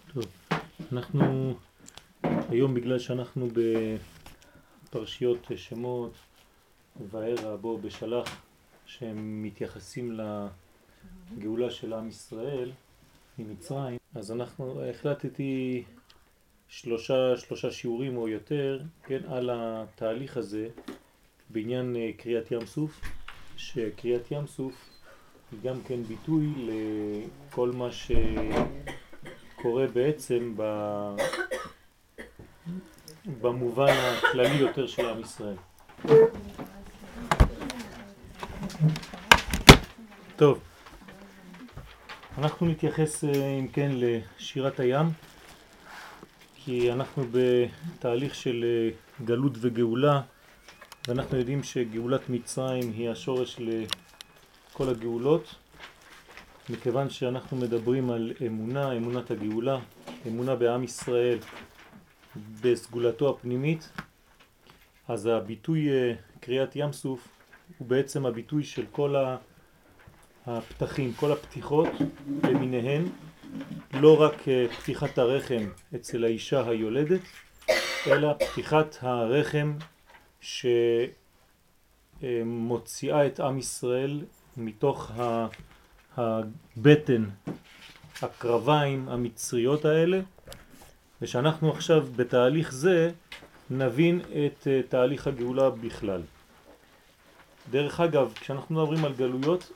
טוב, אנחנו היום בגלל שאנחנו בפרשיות שמות וערה בו בשלח שהם מתייחסים לגאולה של עם ישראל ממצרים, אז אנחנו החלטתי שלושה שיעורים או יותר, כן, על התהליך הזה בעניין קריאת ים סוף, שקריאת ים סוף היא גם כן ביטוי לכל מה שקורה בעצם במובן הכללי יותר של עם ישראל. טוב, אנחנו נתייחס אם כן לשירת הים, כי אנחנו בתהליך של גלות וגאולה, ואנחנו יודעים שגאולת מצרים היא השורש לכל הגאולות, מכיוון שאנחנו מדברים על אמונה, אמונת הגאולה, אמונה בעם ישראל בסגולתו הפנימית, אז הביטוי קריאת ים סוף הוא בעצם הביטוי של כל הפתחים, כל הפתיחות למיניהן, לא רק פתיחת הרחם אצל האישה היולדת, אלא פתיחת הרחם שמוציאה את עם ישראל מתוך הבטן, הקרביים המצריות האלה, ושאנחנו עכשיו בתהליך זה נבין את תהליך הגאולה בכלל. דרך אגב, כשאנחנו מדברים על גלויות,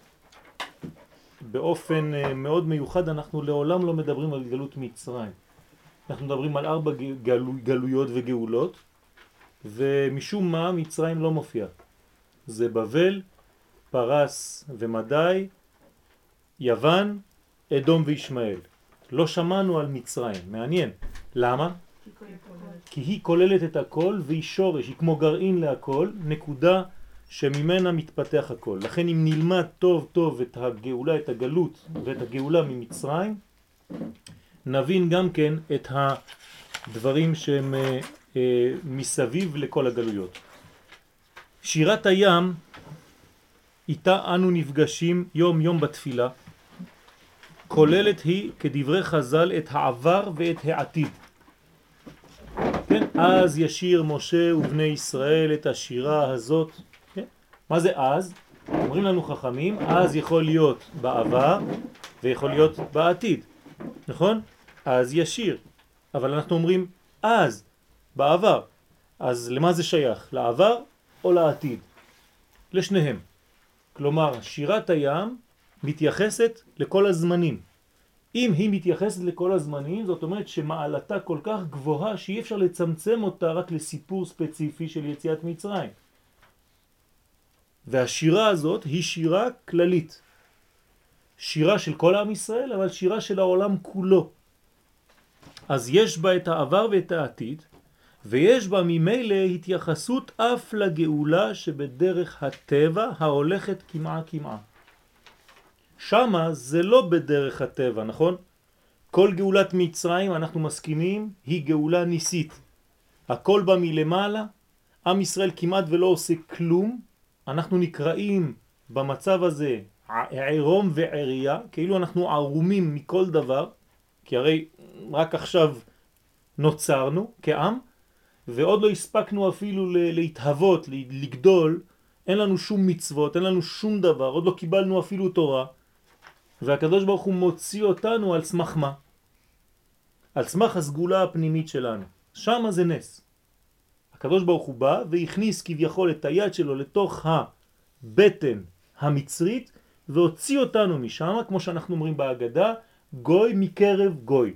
באופן מאוד מיוחד אנחנו לעולם לא מדברים על גלות מצרים. אנחנו מדברים על 4 גלויות וגאולות, ומשום מה מצרים לא מופיע. זה בבל, פרס ומדי, יוון, אדום וישמעאל. לא שמענו על מצרים, מעניין. למה? כי היא כוללת את הכל והיא שורש, היא כמו גרעין להכל, נקודה שממנה מתפתח הכל. לכן אם נלמד טוב טוב את הגאולה, את הגלות ואת הגאולה ממצרים, נבין גם כן את הדברים שהם מסביב לכל הגלויות. שירת הים, איתה אנו נפגשים יום יום בתפילה, כוללת היא כדברי חז"ל את העבר ואת העתיד. כן? אז ישיר משה ובני ישראל את השירה הזאת. כן? מה זה אז? אומרים לנו חכמים, אז יכול להיות בעבר ויכול להיות בעתיד. נכון? אז ישיר. אבל אנחנו אומרים אז, בעבר. אז למה זה שייך? לעבר או לעתיד? לשניהם. כלומר, שירת הים מתייחסת לכל הזמנים. אם היא מתייחסת לכל הזמנים, זאת אומרת שמעלתה כל כך גבוהה שאי אפשר לצמצם אותה רק לסיפור ספציפי של יציאת מצרים. והשירה הזאת היא שירה כללית. שירה של כל עם ישראל, אבל שירה של העולם כולו. אז יש בה את העבר ואת העתיד, ויש בה ממילא התייחסות אף לגאולה שבדרך הטבע ההולכת כמעה כמעה. שמה זה לא בדרך הטבע, נכון? כל גאולת מצרים, אנחנו מסכימים, היא גאולה ניסית. הכל בא מלמעלה, עם ישראל כמעט ולא עושה כלום, אנחנו נקראים במצב הזה עירום ועריה, כאילו אנחנו ערומים מכל דבר, כי הרי רק עכשיו נוצרנו כעם, ועוד לא הספקנו אפילו להתהוות, לגדול, אין לנו שום מצוות, אין לנו שום דבר, עוד לא קיבלנו אפילו תורה, והקדוש ברוך הוא מוציא אותנו על סמך מה? על סמך הסגולה הפנימית שלנו. שם זה נס. הקדוש ברוך הוא בא והכניס כביכול את היד שלו לתוך הבטן המצרית, והוציא אותנו משם, כמו שאנחנו אומרים בהגדה, גוי מקרב גוי.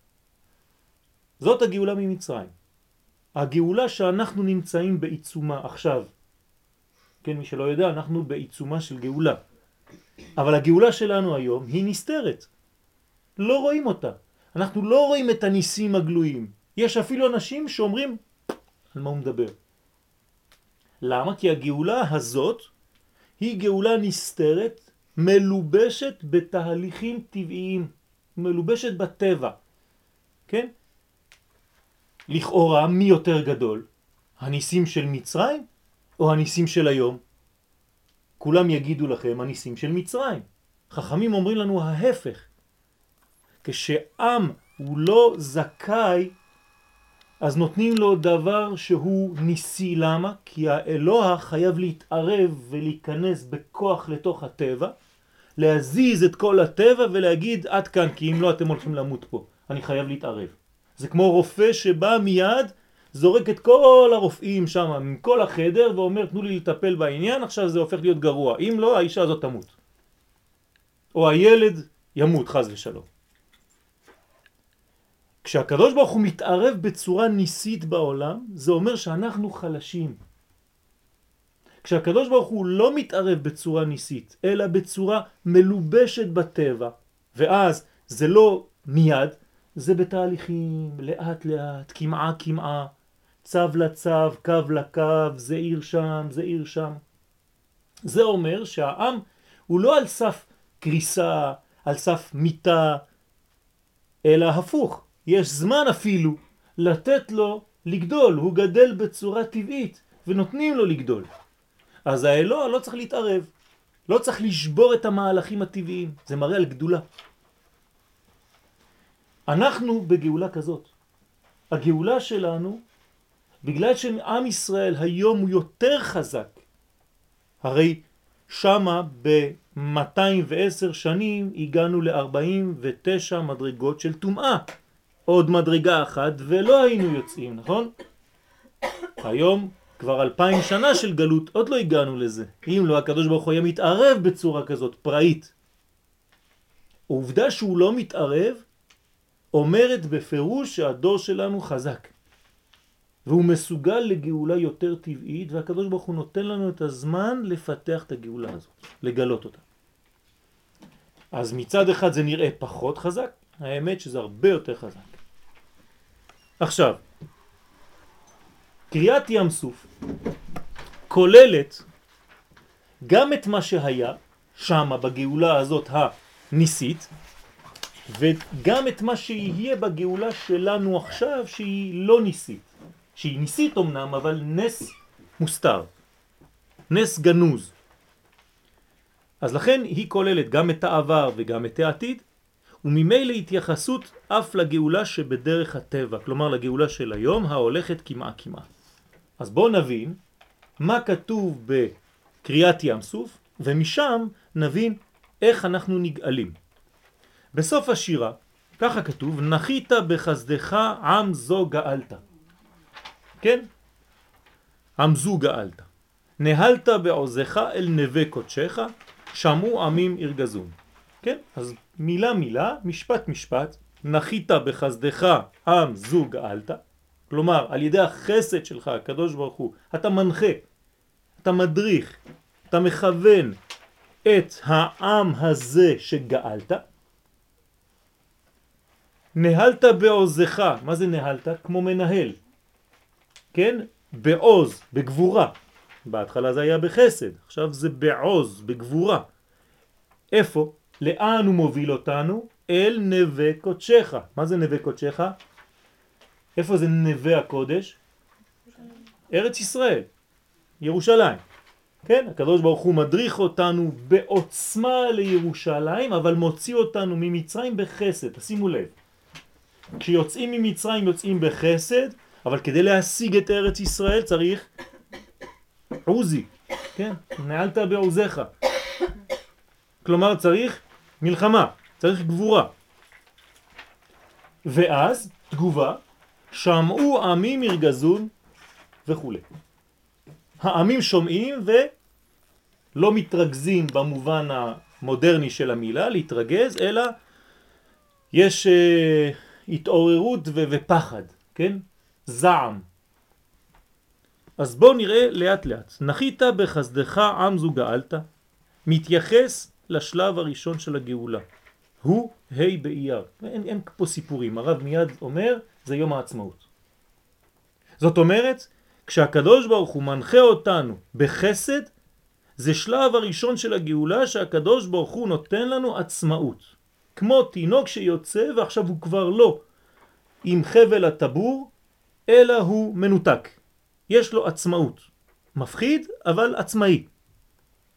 זאת הגאולה ממצרים. הגאולה שאנחנו נמצאים בעיצומה עכשיו. כן, מי שלא יודע, אנחנו בעיצומה של גאולה. אבל הגאולה שלנו היום היא נסתרת. לא רואים אותה. אנחנו לא רואים את הניסים הגלויים. יש אפילו אנשים שאומרים, על מה הוא מדבר? למה? כי הגאולה הזאת היא גאולה נסתרת, מלובשת בתהליכים טבעיים, מלובשת בטבע. כן? לכאורה מי יותר גדול? הניסים של מצרים או הניסים של היום? כולם יגידו לכם הניסים של מצרים. חכמים אומרים לנו ההפך. כשעם הוא לא זכאי, אז נותנים לו דבר שהוא ניסי. למה? כי האלוה חייב להתערב ולהיכנס בכוח לתוך הטבע, להזיז את כל הטבע ולהגיד עד כאן, כי אם לא אתם הולכים למות פה, אני חייב להתערב. זה כמו רופא שבא מיד, זורק את כל הרופאים שם מכל החדר ואומר תנו לי לטפל בעניין, עכשיו זה הופך להיות גרוע, אם לא האישה הזאת תמות או הילד ימות חס ושלום. כשהקדוש ברוך הוא מתערב בצורה ניסית בעולם, זה אומר שאנחנו חלשים. כשהקדוש ברוך הוא לא מתערב בצורה ניסית, אלא בצורה מלובשת בטבע, ואז זה לא מיד, זה בתהליכים, לאט לאט, כמעה כמעה, צו לצו, קו לקו, זה עיר שם, זה עיר שם. זה אומר שהעם הוא לא על סף קריסה, על סף מיטה, אלא הפוך. יש זמן אפילו לתת לו לגדול, הוא גדל בצורה טבעית ונותנים לו לגדול. אז האלוה לא צריך להתערב, לא צריך לשבור את המהלכים הטבעיים, זה מראה על גדולה. אנחנו בגאולה כזאת. הגאולה שלנו, בגלל שעם ישראל היום הוא יותר חזק, הרי שמה ב-210 שנים הגענו ל-49 מדרגות של טומאה. עוד מדרגה אחת ולא היינו יוצאים, נכון? היום כבר 2000 שנה של גלות, עוד לא הגענו לזה. אם לא, הקדוש ברוך הוא היה מתערב בצורה כזאת, פראית. העובדה שהוא לא מתערב, אומרת בפירוש שהדור שלנו חזק. והוא מסוגל לגאולה יותר טבעית, והקדוש ברוך הוא נותן לנו את הזמן לפתח את הגאולה הזאת, לגלות אותה. אז מצד אחד זה נראה פחות חזק, האמת שזה הרבה יותר חזק. עכשיו, קריאת ים סוף כוללת גם את מה שהיה שמה בגאולה הזאת הניסית, וגם את מה שיהיה בגאולה שלנו עכשיו שהיא לא ניסית. שהיא ניסית אמנם, אבל נס מוסתר, נס גנוז. אז לכן היא כוללת גם את העבר וגם את העתיד, וממילא התייחסות אף לגאולה שבדרך הטבע, כלומר לגאולה של היום ההולכת כמעה כמעה. אז בואו נבין מה כתוב בקריאת ים סוף, ומשם נבין איך אנחנו נגאלים. בסוף השירה, ככה כתוב, נחית בחסדך עם זו גאלת. כן? עם זו גאלת. נהלת בעוזך אל נווה קודשך, שמעו עמים ירגזון. כן? אז מילה מילה, משפט משפט, נחית בחסדך עם זו גאלת. כלומר, על ידי החסד שלך, הקדוש ברוך הוא, אתה מנחה, אתה מדריך, אתה מכוון את העם הזה שגאלת. נהלת בעוזך, מה זה נהלת? כמו מנהל, כן? בעוז, בגבורה. בהתחלה זה היה בחסד, עכשיו זה בעוז, בגבורה. איפה? לאן הוא מוביל אותנו? אל נווה קודשך. מה זה נווה קודשך? איפה זה נווה הקודש? ארץ ישראל, ירושלים. כן? הקדוש ברוך הוא מדריך אותנו בעוצמה לירושלים, אבל מוציא אותנו ממצרים בחסד. תשימו לב. כשיוצאים ממצרים יוצאים בחסד, אבל כדי להשיג את ארץ ישראל צריך עוזי, כן? נעלת בעוזך. כלומר צריך מלחמה, צריך גבורה. ואז תגובה, שמעו עמים ירגזון וכו'. העמים שומעים ולא מתרגזים במובן המודרני של המילה, להתרגז, אלא יש התעוררות ופחד, כן? זעם. אז בואו נראה לאט לאט. נחית בחסדך עם זו גאלת, מתייחס לשלב הראשון של הגאולה. הוא ה' באייר. אין פה סיפורים, הרב מיד אומר, זה יום העצמאות. זאת אומרת, כשהקדוש ברוך הוא מנחה אותנו בחסד, זה שלב הראשון של הגאולה שהקדוש ברוך הוא נותן לנו עצמאות. כמו תינוק שיוצא ועכשיו הוא כבר לא עם חבל הטבור, אלא הוא מנותק. יש לו עצמאות. מפחיד, אבל עצמאי.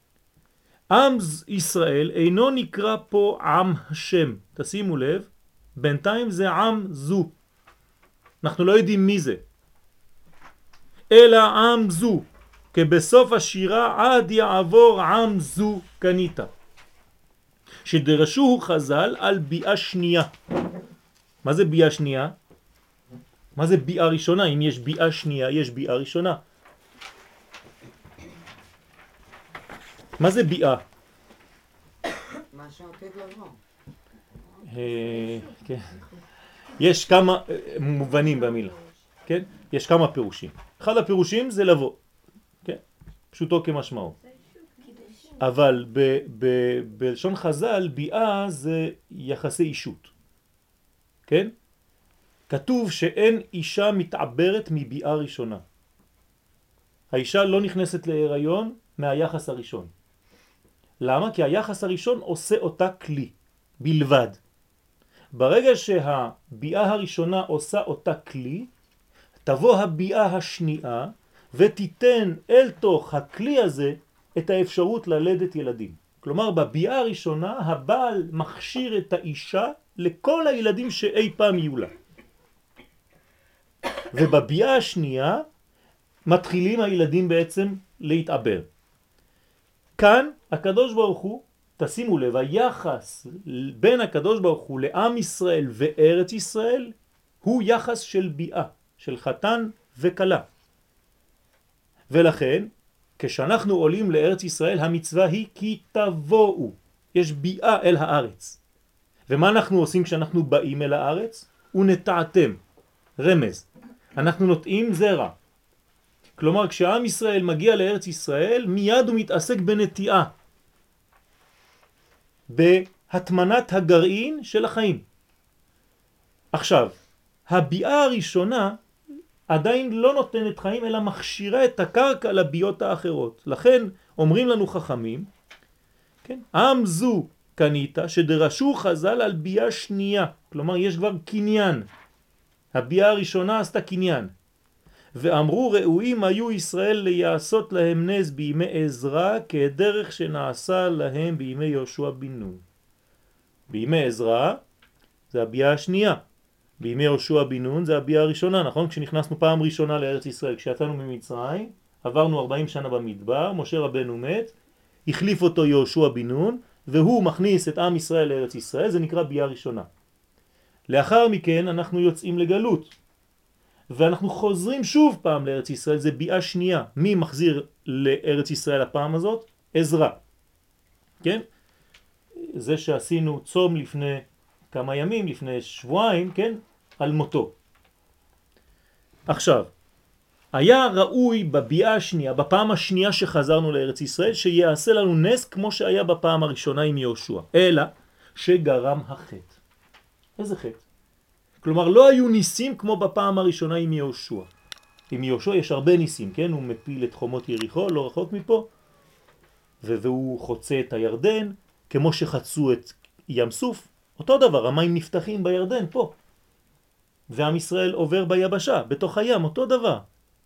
עם ישראל אינו נקרא פה עם השם. תשימו לב, בינתיים זה עם זו. אנחנו לא יודעים מי זה. אלא עם זו, כי בסוף השירה עד יעבור עם זו קניתה. שדרשו חז"ל על ביאה שנייה. מה זה ביאה שנייה? מה זה ביאה ראשונה? אם יש ביאה שנייה, יש ביאה ראשונה. מה זה ביאה? מה שעתיד לבוא. כן. יש כמה מובנים במילה, כן? יש כמה פירושים. אחד הפירושים זה לבוא, כן? פשוטו כמשמעו. אבל בלשון חז"ל ביאה זה יחסי אישות, כן? כתוב שאין אישה מתעברת מביאה ראשונה. האישה לא נכנסת להיריון מהיחס הראשון. למה? כי היחס הראשון עושה אותה כלי בלבד. ברגע שהביאה הראשונה עושה אותה כלי, תבוא הביאה השנייה ותיתן אל תוך הכלי הזה את האפשרות ללדת ילדים. כלומר, בביאה הראשונה הבעל מכשיר את האישה לכל הילדים שאי פעם יהיו לה. ובביאה השנייה מתחילים הילדים בעצם להתעבר. כאן הקדוש ברוך הוא, תשימו לב, היחס בין הקדוש ברוך הוא לעם ישראל וארץ ישראל הוא יחס של ביאה, של חתן וקלה. ולכן, כשאנחנו עולים לארץ ישראל, המצווה היא כי תבואו. יש ביאה אל הארץ. ומה אנחנו עושים כשאנחנו באים אל הארץ? ונטעתם. רמז. אנחנו נוטעים זרע. כלומר, כשעם ישראל מגיע לארץ ישראל, מיד הוא מתעסק בנטיעה. בהתמנת הגרעין של החיים. עכשיו, הביאה הראשונה עדיין לא נותנת חיים, אלא מכשירה את הקרקע לביות האחרות. לכן אומרים לנו חכמים, כן? עם זו קניתה שדרשו חז"ל על ביאה שנייה. כלומר, יש כבר קניין. הביאה הראשונה עשתה קניין. ואמרו ראויים היו ישראל ליעשות להם נס בימי עזרא כדרך שנעשה להם בימי יהושע בן נון. בימי עזרא זה הביאה השנייה. בימי יהושע בן נון זה הביאה הראשונה, נכון? כשנכנסנו פעם ראשונה לארץ ישראל, כשיצאנו ממצרים, עברנו 40 שנה במדבר, משה רבנו מת, החליף אותו יהושע בן נון, והוא מכניס את עם ישראל לארץ ישראל, זה נקרא ביאה ראשונה. לאחר מכן אנחנו יוצאים לגלות. ואנחנו חוזרים שוב פעם לארץ ישראל, זה ביאה שנייה. מי מחזיר לארץ ישראל הפעם הזאת? עזרא. כן? זה שעשינו צום לפני כמה ימים, לפני שבועיים, כן? על מותו. עכשיו, היה ראוי בביאה השנייה, בפעם השנייה שחזרנו לארץ ישראל, שיעשה לנו נס כמו שהיה בפעם הראשונה עם יהושע. אלא שגרם החטא. איזה חטא? כלומר, לא היו ניסים כמו בפעם הראשונה עם יהושע. עם יהושע יש הרבה ניסים, כן? הוא מפיל את חומות יריחו, לא רחוק מפה, והוא חוצה את הירדן, כמו שחצו את ים סוף. אותו דבר, המים נפתחים בירדן פה. ועם ישראל עובר ביבשה, בתוך הים, אותו דבר.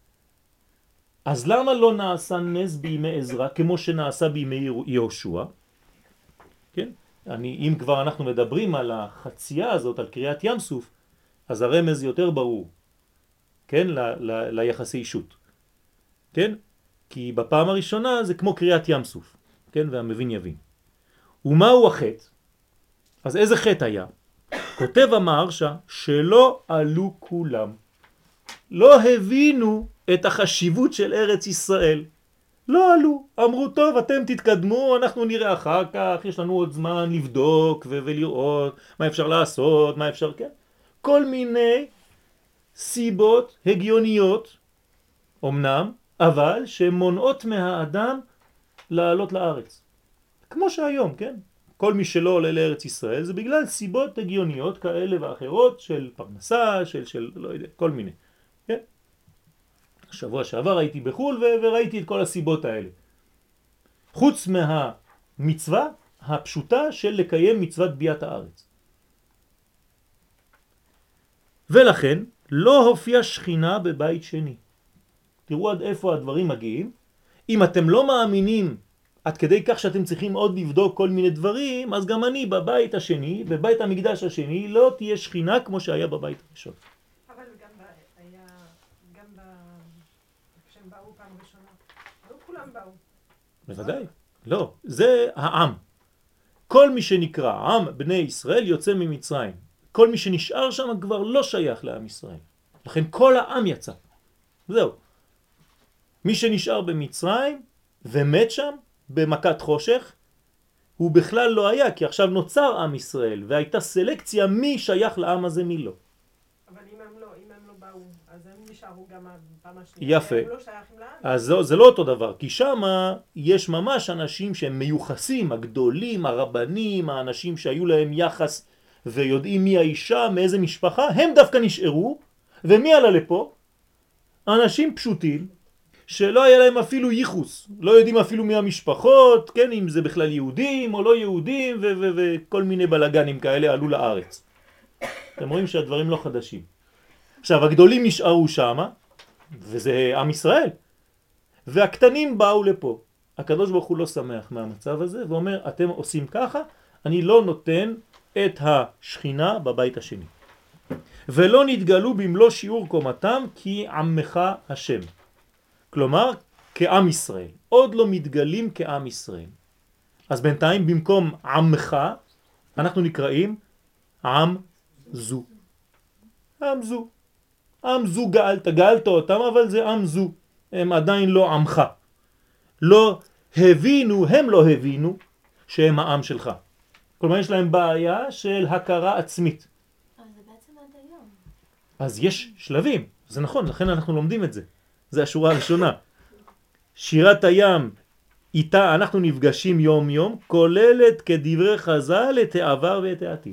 אז למה לא נעשה נס בימי עזרא, כמו שנעשה בימי יהושע? כן? אם כבר אנחנו מדברים על החצייה הזאת, על קריאת ים סוף, אז הרמז יותר ברור, כן? ליחסי אישות. כן? כי בפעם הראשונה זה כמו קריאת ים סוף, כן? והמבין יבין. ומהו החטא? אז איזה חטא היה? כותב המהרש"א שלא עלו כולם. לא הבינו את החשיבות של ארץ ישראל. לא עלו. אמרו, טוב, אתם תתקדמו, אנחנו נראה אחר כך, יש לנו עוד זמן לבדוק ולראות מה אפשר לעשות, מה אפשר, כן? כל מיני סיבות הגיוניות, אמנם, אבל שמונעות מהאדם לעלות לארץ. כמו שהיום, כן? כל מי שלא עולה לארץ ישראל זה בגלל סיבות הגיוניות כאלה ואחרות של פרנסה, של לא יודע, כל מיני. כן? שבוע שעבר הייתי בחול וראיתי את כל הסיבות האלה. חוץ מהמצווה הפשוטה של לקיים מצוות ביאת הארץ. ולכן לא הופיע שכינה בבית שני. תראו עד איפה הדברים מגיעים. אם אתם לא מאמינים עד כדי כך שאתם צריכים עוד לבדוק כל מיני דברים, אז גם אני בבית השני, בבית המקדש השני, לא תהיה שכינה כמו שהיה בבית הראשון. אבל כשהם באו פעם ראשונה, לא כולם באו. בוודאי, לא, זה העם. כל מי שנקרא עם בני ישראל יוצא ממצרים. כל מי שנשאר שם כבר לא שייך לעם ישראל. לכן כל העם יצא. זהו. מי שנשאר במצרים ומת שם במכת חושך, הוא בכלל לא היה, כי עכשיו נוצר עם ישראל, והייתה סלקציה מי שייך לעם הזה מי לא. אבל אם הם לא באו, אז הם נשארו גם הפעם השנייה. יפה. הם לא שייכים לעם. אז זה לא אותו דבר, כי שם יש ממש אנשים שהם מיוחסים, הגדולים, הרבנים, האנשים שהיו להם יחס ויודעים מי האישה, מאיזה משפחה, הם דווקא נשארו, ומי עלה לפה? אנשים פשוטים, שלא היה להם אפילו ייחוס, לא יודעים אפילו מי המשפחות, כן, אם זה בכלל יהודים או לא יהודים, וכל מיני בלגנים כאלה עלו לארץ. אתם רואים שהדברים לא חדשים. עכשיו, הגדולים נשארו שם, וזה עם ישראל, והקטנים באו לפה. הקדוש ברוך הוא לא שמח מהמצב הזה, ואומר, אתם עושים ככה, אני לא נותן את השכינה בבית השני. ולא נתגלו במלוא שיעור קומתם כי עמך השם. כלומר, כעם ישראל. עוד לא מתגלים כעם ישראל. אז בינתיים, במקום עמך, אנחנו נקראים עם זו. עם זו. עם זו גאלת אותם, אבל זה עם זו. הם עדיין לא עמך. לא הבינו, הם לא הבינו שהם העם שלך. כלומר, יש להם בעיה של הכרה עצמית. אבל זה בעצם עד היום. אז יש שלבים, זה נכון, לכן אנחנו לומדים את זה. זה השורה הראשונה. שירת הים, איתה אנחנו נפגשים יום יום, כוללת כדברי חז"ל את העבר ואת העתיד.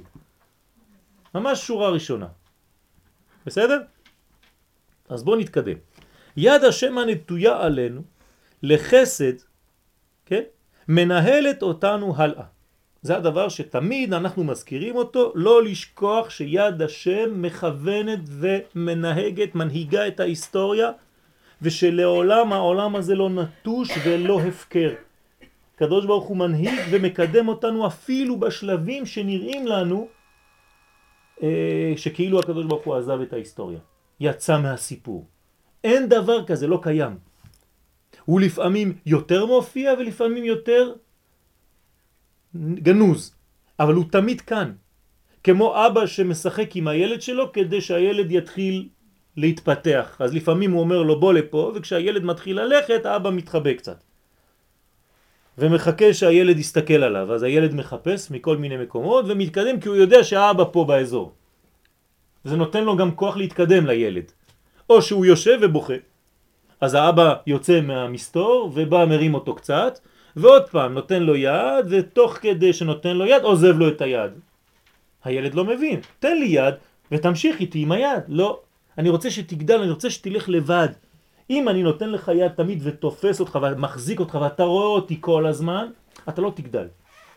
ממש שורה ראשונה. בסדר? אז בואו נתקדם. יד השם הנטויה עלינו לחסד, כן? מנהלת אותנו הלאה. זה הדבר שתמיד אנחנו מזכירים אותו, לא לשכוח שיד השם מכוונת ומנהגת, מנהיגה את ההיסטוריה, ושלעולם העולם הזה לא נטוש ולא הפקר. הקדוש ברוך הוא מנהיג ומקדם אותנו אפילו בשלבים שנראים לנו שכאילו הקדוש ברוך הוא עזב את ההיסטוריה, יצא מהסיפור. אין דבר כזה, לא קיים. הוא לפעמים יותר מופיע ולפעמים יותר גנוז, אבל הוא תמיד כאן. כמו אבא שמשחק עם הילד שלו כדי שהילד יתחיל להתפתח. אז לפעמים הוא אומר לו בוא לפה, וכשהילד מתחיל ללכת, האבא מתחבא קצת. ומחכה שהילד יסתכל עליו. אז הילד מחפש מכל מיני מקומות ומתקדם כי הוא יודע שהאבא פה באזור. זה נותן לו גם כוח להתקדם לילד. או שהוא יושב ובוכה. אז האבא יוצא מהמסתור ובא מרים אותו קצת, ועוד פעם נותן לו יד, ותוך כדי שנותן לו יד עוזב לו את היד. הילד לא מבין. תן לי יד ותמשיך איתי עם היד. לא. אני רוצה שתגדל, אני רוצה שתלך לבד. אם אני נותן לך יד תמיד ותופס אותך ומחזיק אותך ואתה רואה אותי כל הזמן, אתה לא תגדל.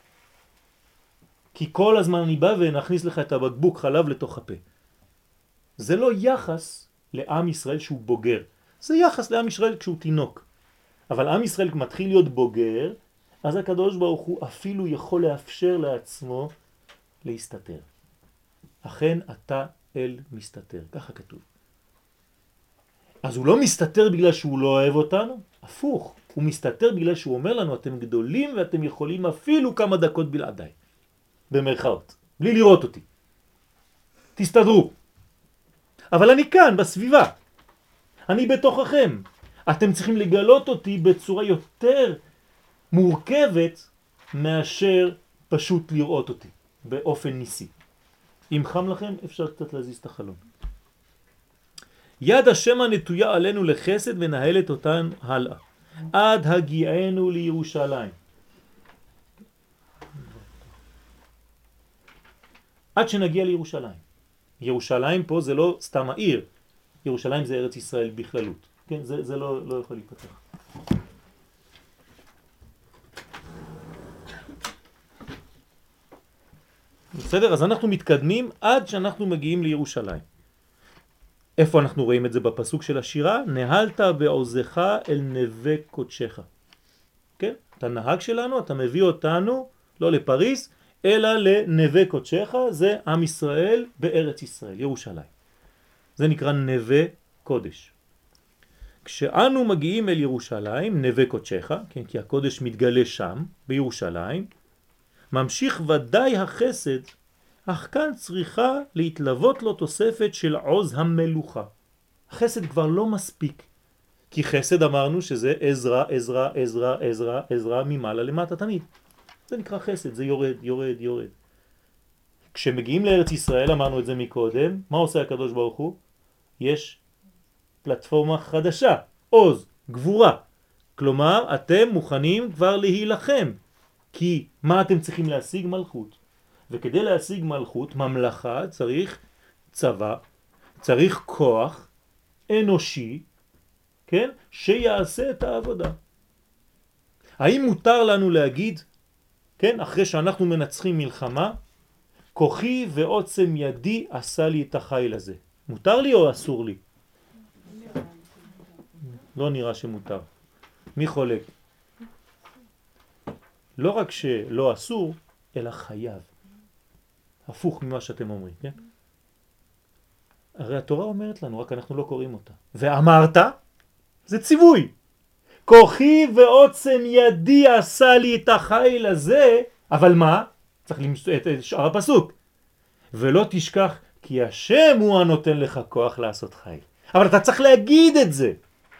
כי כל הזמן אני בא ונכניס לך את הבקבוק חלב לתוך הפה. זה לא יחס לעם ישראל שהוא בוגר. זה יחס לעם ישראל כשהוא תינוק. אבל עם ישראל מתחיל להיות בוגר, אז הקדוש ברוך הוא אפילו יכול לאפשר לעצמו להסתתר. אכן אתה אל מסתתר, ככה כתוב. אז הוא לא מסתתר בגלל שהוא לא אוהב אותנו, הפוך. הוא מסתתר בגלל שהוא אומר לנו, אתם גדולים ואתם יכולים אפילו כמה דקות בלעדיי. במרכאות, בלי לראות אותי. תסתדרו. אבל אני כאן, בסביבה. אני בתוככם. אתם צריכים לגלות אותי בצורה יותר מורכבת מאשר פשוט לראות אותי באופן ניסי. אם חם לכם, אפשר קצת להזיז את החלון. יד השם הנטויה עלינו לחסד מנהלת אותן הלאה. עד הגיענו לירושלים. עד שנגיע לירושלים. ירושלים פה זה לא סתם העיר. ירושלים זה ארץ ישראל בכללות. כן, זה לא יכול להיפתח. בסדר? אז אנחנו מתקדמים עד שאנחנו מגיעים לירושלים. איפה אנחנו רואים את זה בפסוק של השירה? נהלת בעוזך אל נווה קודשך. כן? אתה נהג שלנו, אתה מביא אותנו לא לפריס, אלא לנווה קודשך, זה עם ישראל בארץ ישראל, ירושלים. זה נקרא נווה קודש. כשאנו מגיעים אל ירושלים, נווה קודשך, כן, כי הקודש מתגלה שם, בירושלים, ממשיך ודאי החסד, אך כאן צריכה להתלוות לו תוספת של עוז המלוכה. החסד כבר לא מספיק, כי חסד אמרנו שזה עזרה, עזרה, עזרה, עזרה, עזרה ממעלה למטה תמיד. זה נקרא חסד, זה יורד, יורד, יורד. כשמגיעים לארץ ישראל, אמרנו את זה מקודם, מה עושה הקדוש ברוך הוא? יש פלטפורמה חדשה, עוז, גבורה. כלומר, אתם מוכנים כבר להילחם. כי מה אתם צריכים להשיג? מלכות. וכדי להשיג מלכות, ממלכה, צריך צבא, צריך כוח אנושי, כן? שיעשה את העבודה. האם מותר לנו להגיד, כן, אחרי שאנחנו מנצחים מלחמה, כוחי ועוצם ידי עשה לי את החיל הזה? מותר לי או אסור לי? לא נראה שמותר. מי חולק? לא רק שלא אסור, אלא חייב. הפוך ממה שאתם אומרים, כן? הרי התורה אומרת לנו, רק אנחנו לא קוראים אותה. ואמרת, זה ציווי. כוחי ועוצם ידי עשה לי את החיל הזה, אבל מה? צריך למצוא את שאר הפסוק. ולא תשכח כי השם הוא הנותן לך כוח לעשות חיל. אבל אתה צריך להגיד את זה.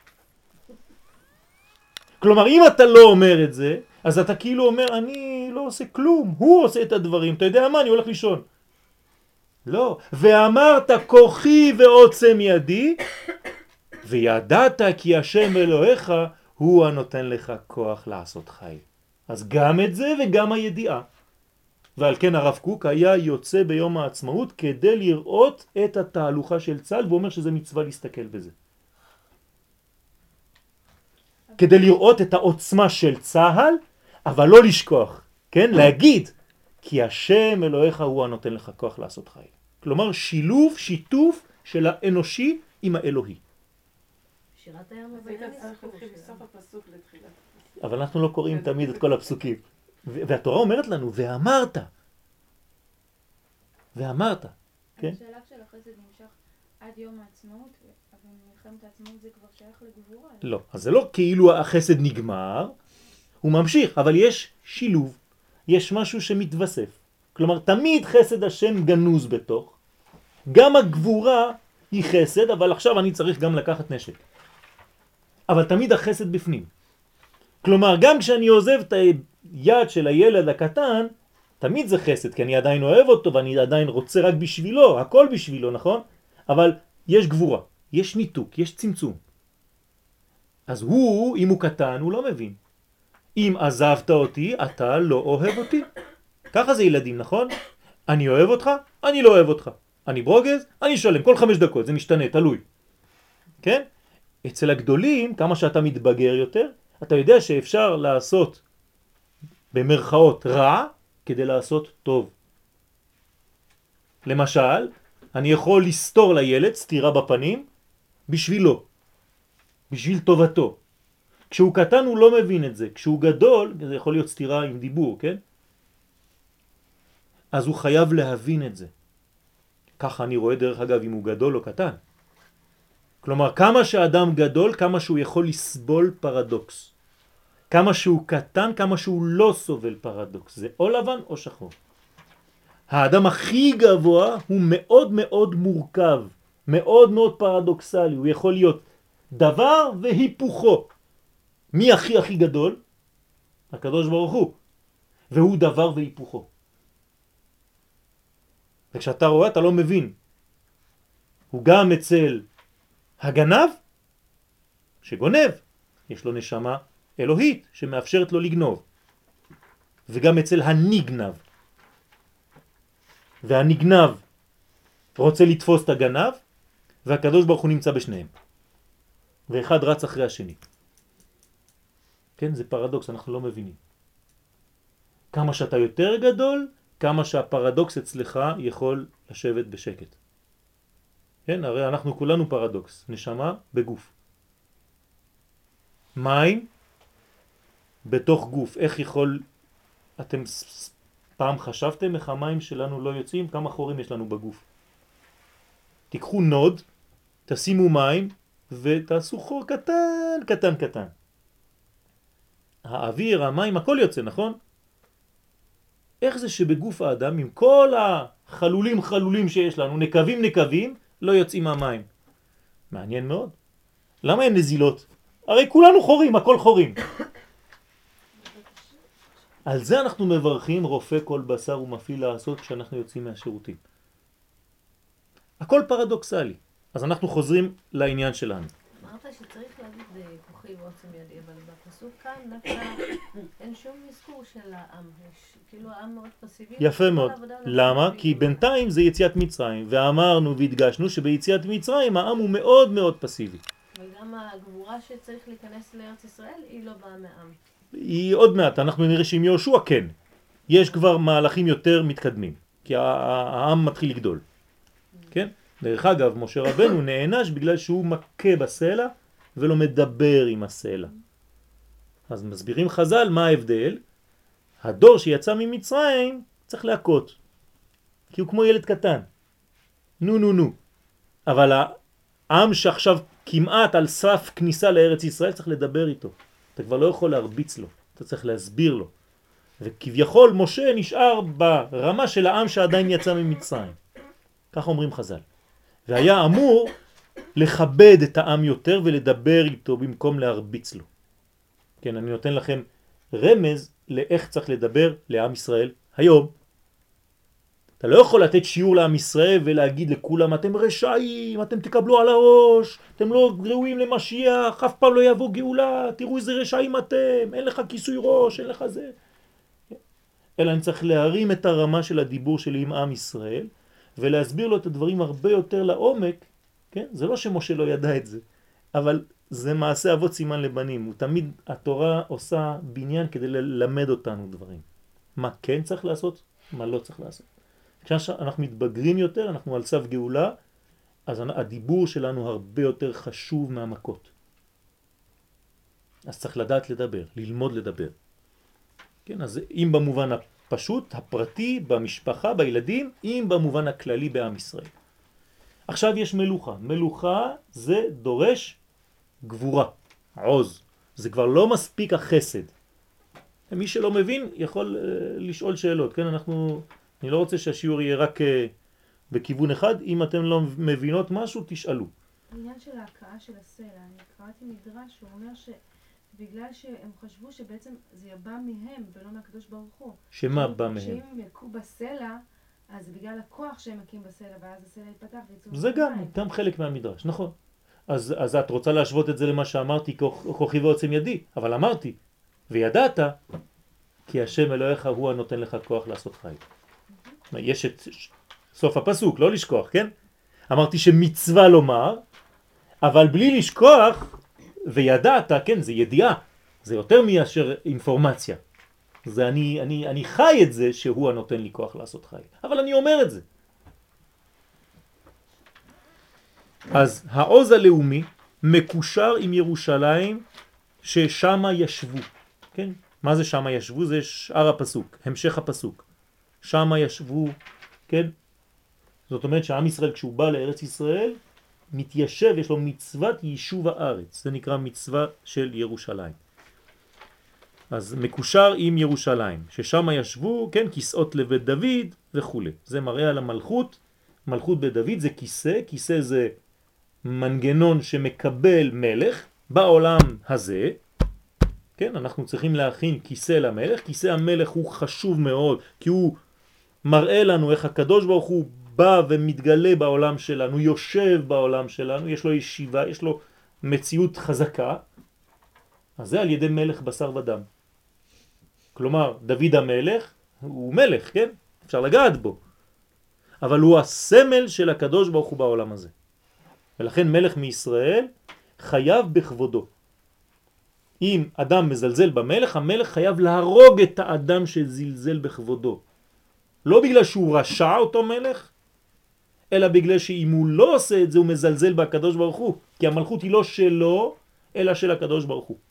כלומר, אם אתה לא אומר את זה, אז אתה כאילו אומר, אני לא עושה כלום, הוא עושה את הדברים, אתה יודע מה, אני הולך לישון. לא, ואמרת כוחי ועוצם ידי, וידעת כי השם אלוהיך הוא הנותן לך כוח לעשות חיל. אז גם את זה וגם הידיעה. ועל כן הרב קוק היה יוצא ביום העצמאות כדי לראות את התהלוכה של צה"ל, והוא אומר שזה מצווה להסתכל בזה. כדי לראות את העוצמה של צה"ל, אבל לא לשכוח, כן? להגיד, כי השם אלוהיך הוא הנותן לך כוח לעשות חיל. כלומר, שילוב, שיתוף של האנושי עם האלוהי. שירת הים אז היית צריך להתחיל בסוף הפסוק לתחילת. אבל אנחנו לא קוראים תמיד את כל הפסוקים. והתורה אומרת לנו, ואמרת. ואמרת. כן? השלב של החסד נמשך עד יום העצמאות, אבל מלחמת העצמאות זה כבר שייך לגבורה. לא, אז זה לא כאילו החסד נגמר, הוא ממשיך, אבל יש שילוב, יש משהו שמתווסף. כלומר, תמיד חסד השם גנוז בתוך, גם הגבורה היא חסד, אבל עכשיו אני צריך גם לקחת נשק. אבל תמיד החסד בפנים. כלומר, גם כשאני עוזב את היד של הילד הקטן, תמיד זה חסד, כי אני עדיין אוהב אותו ואני עדיין רוצה רק בשבילו, הכל בשבילו, נכון? אבל יש גבורה, יש ניתוק, יש צמצום. אז הוא, אם הוא קטן, הוא לא מבין. אם עזבת אותי, אתה לא אוהב אותי. ככה זה ילדים, נכון? אני אוהב אותך, אני לא אוהב אותך. אני ברוגז, אני שלם, כל 5 דקות, זה משתנה, תלוי. כן? אצל הגדולים, כמה שאתה מתבגר יותר, אתה יודע שאפשר לעשות במרכאות רע כדי לעשות טוב. למשל, אני יכול לסתור לילד סתירה בפנים בשבילו, בשביל טובתו. כשהוא קטן הוא לא מבין את זה, כשהוא גדול זה יכול להיות סתירה עם דיבור, כן? אז הוא חייב להבין את זה. ככה אני רואה דרך אגב אם הוא גדול או קטן. כלומר, כמה שאדם גדול, כמה שהוא יכול לסבול פרדוקס. כמה שהוא קטן, כמה שהוא לא סובל פרדוקס. זה או לבן או שחור. האדם הכי גבוה הוא מאוד מאוד מורכב, מאוד מאוד פרדוקסלי. הוא יכול להיות דבר והיפוכו. מי הכי גדול? הקדוש ברוך הוא. והוא דבר והיפוכו. וכשאתה רואה אתה לא מבין. הוא גם אצל הגנב שגונב, יש לו נשמה אלוהית שמאפשרת לו לגנוב. וגם אצל הנגנב. והנגנב רוצה לתפוס את הגנב, והקדוש ברוך הוא נמצא בשניהם. ואחד רץ אחרי השני. כן, זה פרדוקס, אנחנו לא מבינים. כמה שאתה יותר גדול, כמה שהפרדוקס אצלך יכול לשבת בשקט. כן, הרי אנחנו כולנו פרדוקס, נשמה בגוף. מים בתוך גוף. איך יכול, אתם פעם חשבתם איך המים שלנו לא יוצאים? כמה חורים יש לנו בגוף? תיקחו נוד, תשימו מים ותעשו חור קטן, קטן, קטן. האוויר, המים, הכל יוצא, נכון? איך זה שבגוף האדם, עם כל החלולים שיש לנו, נקבים, לא יוצאים מהמים? מעניין מאוד. למה אין נזילות? הרי כולנו חורים, הכל חורים. על זה אנחנו מברכים רופא כל בשר ומפעיל לעשות כשאנחנו יוצאים מהשירותים. הכל פרדוקסלי. אז אנחנו חוזרים לעניין שלנו. אמרת שצריך להגיד כוחי ועוצם ידי, אבל בפסוק כאן דווקא אין שום מזכור של העם. כאילו העם מאוד פסיבי. יפה מאוד. למה? כי בינתיים זה יציאת מצרים, ואמרנו והדגשנו שביציאת מצרים העם הוא מאוד מאוד פסיבי. וגם הגבורה שצריך להיכנס לארץ ישראל היא לא באה מהעם. היא עוד מעט, אנחנו נראה שעם יהושע כן. יש כבר מהלכים יותר מתקדמים, כי העם מתחיל לגדול. כן? דרך אגב, משה רבנו נענש בגלל שהוא מכה בסלע ולא מדבר עם הסלע. אז מסבירים חז"ל מה ההבדל. הדור שיצא ממצרים צריך להכות, כי הוא כמו ילד קטן. נו. אבל העם שעכשיו כמעט על סף כניסה לארץ ישראל צריך לדבר איתו. אתה כבר לא יכול להרביץ לו, אתה צריך להסביר לו. וכביכול משה נשאר ברמה של העם שעדיין יצא ממצרים. כך אומרים חז"ל. והיה אמור לכבד את העם יותר ולדבר איתו במקום להרביץ לו. כן, אני נותן לכם רמז לאיך צריך לדבר לעם ישראל היום. אתה לא יכול לתת שיעור לעם ישראל ולהגיד לכולם, אתם רשעים, אתם תקבלו על הראש, אתם לא ראויים למשיח, אף פעם לא יבוא גאולה, תראו איזה רשעים אתם, אין לך כיסוי ראש, אין לך זה. אלא אני צריך להרים את הרמה של הדיבור שלי עם עם ישראל, ולהסביר לו את הדברים הרבה יותר לעומק, כן? זה לא שמשה לא ידע את זה, אבל זה מעשה אבות סימן לבנים. הוא תמיד, התורה עושה בניין כדי ללמד אותנו דברים. מה כן צריך לעשות, מה לא צריך לעשות. כשאנחנו מתבגרים יותר, אנחנו על סף גאולה, אז הדיבור שלנו הרבה יותר חשוב מהמכות. אז צריך לדעת לדבר, ללמוד לדבר. כן, אז אם במובן הפשוט, הפרטי, במשפחה, בילדים, אם במובן הכללי בעם ישראל. עכשיו יש מלוכה. מלוכה זה דורש גבורה, עוז. זה כבר לא מספיק החסד. מי שלא מבין יכול לשאול שאלות. כן, אני לא רוצה שהשיעור יהיה רק בכיוון אחד. אם אתם לא מבינות משהו, תשאלו. העניין של ההקעה של הסלע, אני קראתי מדרש, הוא אומר שבגלל שהם חשבו שבעצם זה בא מהם ולא מהקדוש ברוך הוא. שמה בא מהם? שאם הם יקעו בסלע, אז זה בגלל הכוח שהם מקים בסלע, ואז הסלע יתפתח ויצאו. זה גם חלק מהמדרש, נכון. אז את רוצה להשוות את זה למה שאמרתי, כוחי ועוצם ידי, אבל אמרתי, וידעת, כי השם אלוהיך הוא הנותן לך כוח לעשות חי. יש את סוף הפסוק, לא לשכוח, כן? אמרתי שמצווה לומר, אבל בלי לשכוח, וידעת, כן, זה ידיעה, זה יותר מאשר אינפורמציה. זה אני חי את זה שהוא הנותן לי כוח לעשות חי. אבל אני אומר את זה. אז העוז הלאומי מקושר עם ירושלים ששם ישבו. כן? מה זה שם ישבו? זה שאר הפסוק, המשך הפסוק. שם ישבו, כן? זאת אומרת שעם ישראל כשהוא בא לארץ ישראל מתיישב, יש לו מצוות יישוב הארץ. זה נקרא מצווה של ירושלים. אז מקושר עם ירושלים, ששם ישבו, כן, כיסאות לבית דוד וכו'. זה מראה על המלכות. מלכות בית דוד זה כיסא, כיסא זה מנגנון שמקבל מלך בעולם הזה. כן, אנחנו צריכים להכין כיסא למלך. כיסא המלך הוא חשוב מאוד, כי הוא מראה לנו איך הקדוש ברוך הוא בא ומתגלה בעולם שלנו, יושב בעולם שלנו, יש לו ישיבה, יש לו מציאות חזקה. אז זה על ידי מלך בשר ודם. כלומר, דוד המלך הוא מלך, כן? אפשר לגעת בו. אבל הוא הסמל של הקדוש ברוך הוא בעולם הזה. ולכן מלך מישראל חייב בכבודו. אם אדם מזלזל במלך, המלך חייב להרוג את האדם שזלזל בכבודו. לא בגלל שהוא רשע אותו מלך, אלא בגלל שאם הוא לא עושה את זה, הוא מזלזל בקדוש ברוך הוא. כי המלכות היא לא שלו, אלא של הקדוש ברוך הוא.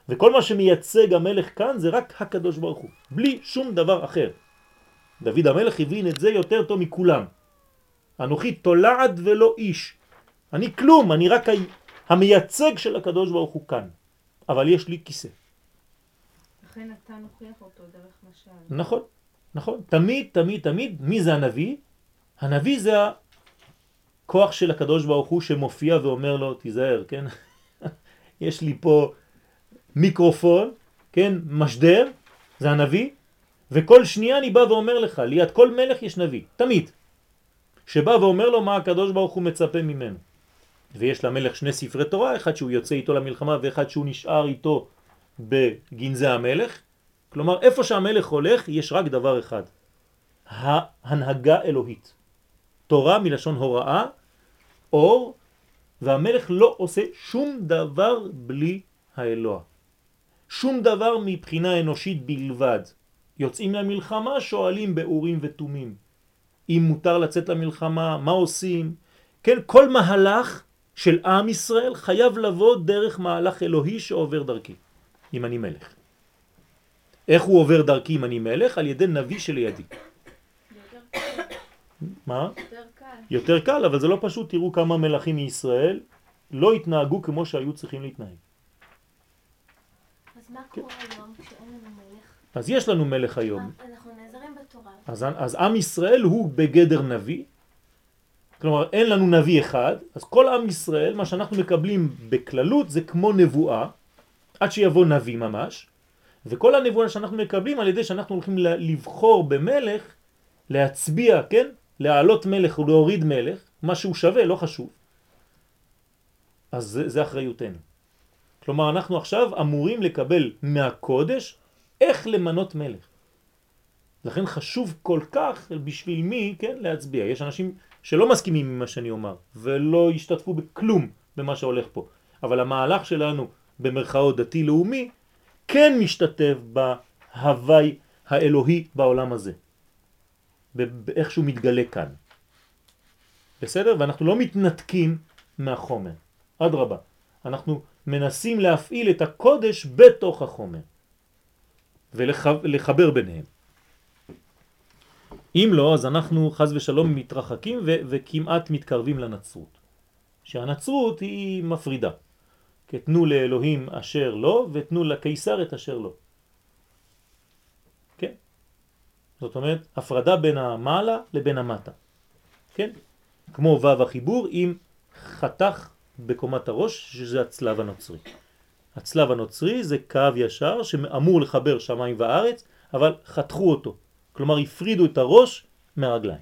וכל מה שמייצג המלך כאן זה רק הקדוש ברוך הוא, בלי שום דבר אחר. דוד המלך הבין את זה יותר טוב מכולם. אנוכי תולעת ולא איש. אני כלום, אני רק המייצג של הקדוש ברוך הוא כאן. אבל יש לי כיסא. לכן אתה נוכיח אותו דרך משל. נכון, נכון. תמיד, תמיד, תמיד, מי זה הנביא? הנביא זה הכוח של הקדוש ברוך הוא שמופיע ואומר לו, תיזהר, כן? יש לי פה מיקרופון, כן? משדר, זה הנביא, וכל שנייה אני בא ואומר לך, ליד כל מלך יש נביא, תמיד. שבא ואומר לו מה הקדוש ברוך הוא מצפה ממנו. ויש למלך שני ספרי תורה, אחד שהוא יוצא איתו למלחמה ואחד שהוא נשאר איתו בגנזי המלך. כלומר, איפה שהמלך הולך יש רק דבר אחד, ההנהגה אלוהית. תורה מלשון הוראה, אור, והמלך לא עושה שום דבר בלי האלוה. שום דבר מבחינה אנושית בלבד. יוצאים למלחמה, שואלים באורים ותומים. אם מותר לצאת למלחמה, מה עושים? כן, כל מהלך של עם ישראל חייב לבוא דרך מהלך אלוהי שעובר דרכי, אם אני מלך. איך הוא עובר דרכי אם אני מלך? על ידי נביא שלידי. יותר קל. מה? יותר קל. יותר קל, אבל זה לא פשוט. תראו כמה מלכים מישראל לא התנהגו כמו שהיו צריכים להתנהג. אז מה קורה היום כשאין לנו מלך? אז יש לנו מלך היום. אנחנו נעזרים בתורה. אז עם ישראל הוא בגדר נביא. כלומר, אין לנו נביא אחד, אז כל עם ישראל, מה שאנחנו מקבלים בכללות זה כמו נבואה, עד שיבוא נביא ממש, וכל הנבואה שאנחנו מקבלים על ידי שאנחנו הולכים לבחור במלך, להצביע, כן? להעלות מלך ולהוריד מלך, מה שהוא שווה, לא חשוב. אז זה אחריותנו. כלומר, אנחנו עכשיו אמורים לקבל מהקודש איך למנות מלך. לכן חשוב כל כך בשביל מי, כן, להצביע. יש אנשים שלא מסכימים עם מה שאני אומר, ולא ישתתפו בכלום במה שהולך פה. אבל המהלך שלנו במרכאות דתי-לאומי, כן משתתף בהווי האלוהי בעולם הזה. באיך שהוא מתגלה כאן. בסדר? ואנחנו לא מתנתקים מהחומר. אדרבה. אנחנו מנסים להפעיל את הקודש בתוך החומר. ולחבר ביניהם. אם לא, אז אנחנו חז ושלום מתרחקים וכמעט מתקרבים לנצרות. שהנצרות היא מפרידה. תנו לאלוהים אשר לא, ותנו לקיסר את אשר לא. כן? זאת אומרת, הפרדה בין המעלה לבין המטה. כן? כמו וו החיבור עם חתך בקומת הראש, שזה הצלב הנוצרי. הצלב הנוצרי זה קו ישר שאמור לחבר שמיים וארץ, אבל חתכו אותו. כלומר, הפרידו את הראש מהרגליים.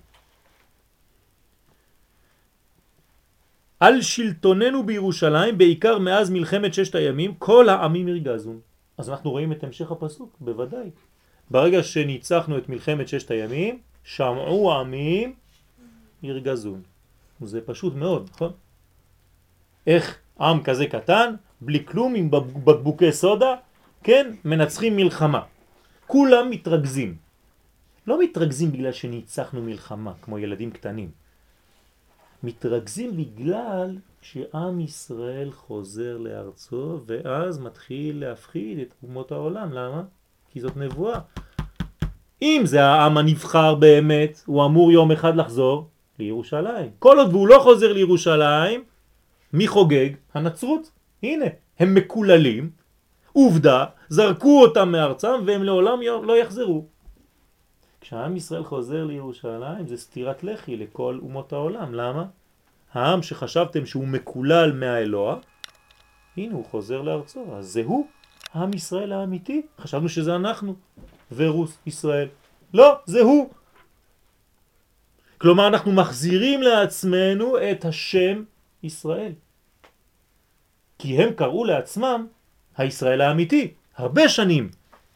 על שלטוננו בירושלים, בעיקר מאז מלחמת ששת הימים, כל העמים ירגזון. אז אנחנו רואים את המשך הפסוק, בוודאי. ברגע שניצחנו את מלחמת ששת הימים, שמעו העמים ירגזון. זה פשוט מאוד, נכון? איך עם כזה קטן, בלי כלום, עם בקבוקי סודה, כן, מנצחים מלחמה. כולם מתרגזים. לא מתרגזים בגלל שניצחנו מלחמה, כמו ילדים קטנים. מתרגזים בגלל שעם ישראל חוזר לארצו, ואז מתחיל להפחיד את אומות העולם. למה? כי זאת נבואה. אם זה העם הנבחר באמת, הוא אמור יום אחד לחזור לירושלים. כל עוד והוא לא חוזר לירושלים, מי חוגג? הנצרות. הנה, הם מקוללים, עובדה, זרקו אותם מארצם והם לעולם לא יחזרו. כשהעם ישראל חוזר לירושלים זה סתירת לחי לכל אומות העולם. למה? העם שחשבתם שהוא מקולל מהאלוה, הנה הוא חוזר לארצו. אז זהו העם ישראל האמיתי. חשבנו שזה אנחנו, ורוס ישראל. לא, זהו. כלומר אנחנו מחזירים לעצמנו את השם ישראל. כי הם קראו לעצמם הישראל האמיתי, הרבה שנים.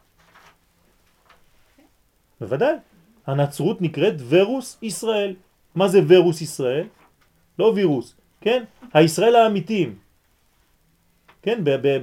בוודאי. הנצרות נקראת ורוס ישראל. מה זה ורוס ישראל? לא וירוס, כן? הישראל האמיתיים. כן?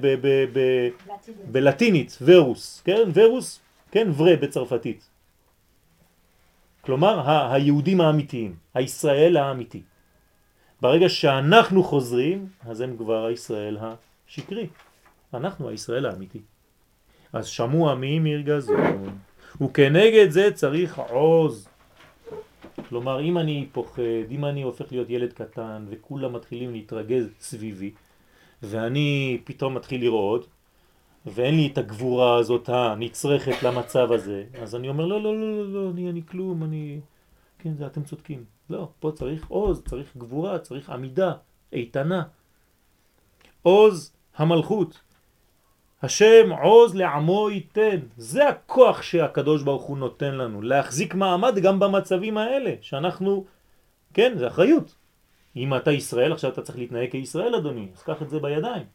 בלטינית, ורוס. כן? ורוס, כן? ורה בצרפתית. כלומר, היהודים האמיתיים. הישראל האמיתי. ברגע שאנחנו חוזרים, אז הם כבר הישראל השקרי. אנחנו הישראל האמיתי. אז שמעו עמים ירגזון, וכנגד זה צריך עוז. כלומר, אם אני פוחד, אם אני הופך להיות ילד קטן וכולם מתחילים להתרגז סביבי, ואני פתאום מתחיל לראות, ואין לי את הגבורה הזאת הנצרכת למצב הזה, אז אני אומר, לא, לא, לא, לא, לא, אני כלום, כן, זה אתם צודקים. לא, פה צריך עוז, צריך גבורה, צריך עמידה, איתנה. עוז המלכות. השם עוז לעמו ייתן. זה הכוח שהקדוש ברוך הוא נותן לנו, להחזיק מעמד גם במצבים האלה, שאנחנו, כן, זה אחריות. אם אתה ישראל, עכשיו אתה צריך להתנהג כישראל, אדוני, אז קח את זה בידיים.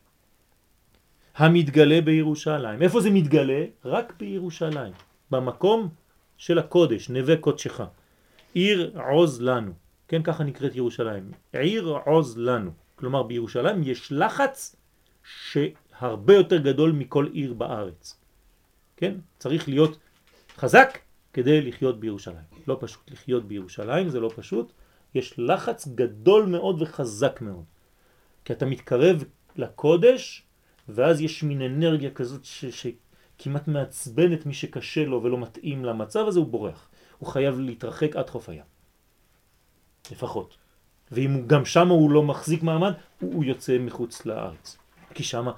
המתגלה בירושלים. איפה זה מתגלה? רק בירושלים. במקום של הקודש, נווה קודשך. עיר עוז לנו. כן, ככה נקראת ירושלים. עיר עוז לנו. כלומר, בירושלים יש לחץ שהרבה יותר גדול מכל עיר בארץ. כן? צריך להיות חזק כדי לחיות בירושלים. לא פשוט. לחיות בירושלים זה לא פשוט. יש לחץ גדול מאוד וחזק מאוד. כי אתה מתקרב לקודש, ואז יש מין אנרגיה כזאת שכמעט מעצבנת מי שקשה לו ולא מתאים למצב הזה, הוא בורח. הוא חייב להתרחק עד חוף הים. לפחות. ואם הוא גם שם הוא לא מחזיק מעמד, הוא יוצא מחוץ לארץ. כי שם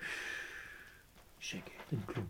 שקט, אין כלום.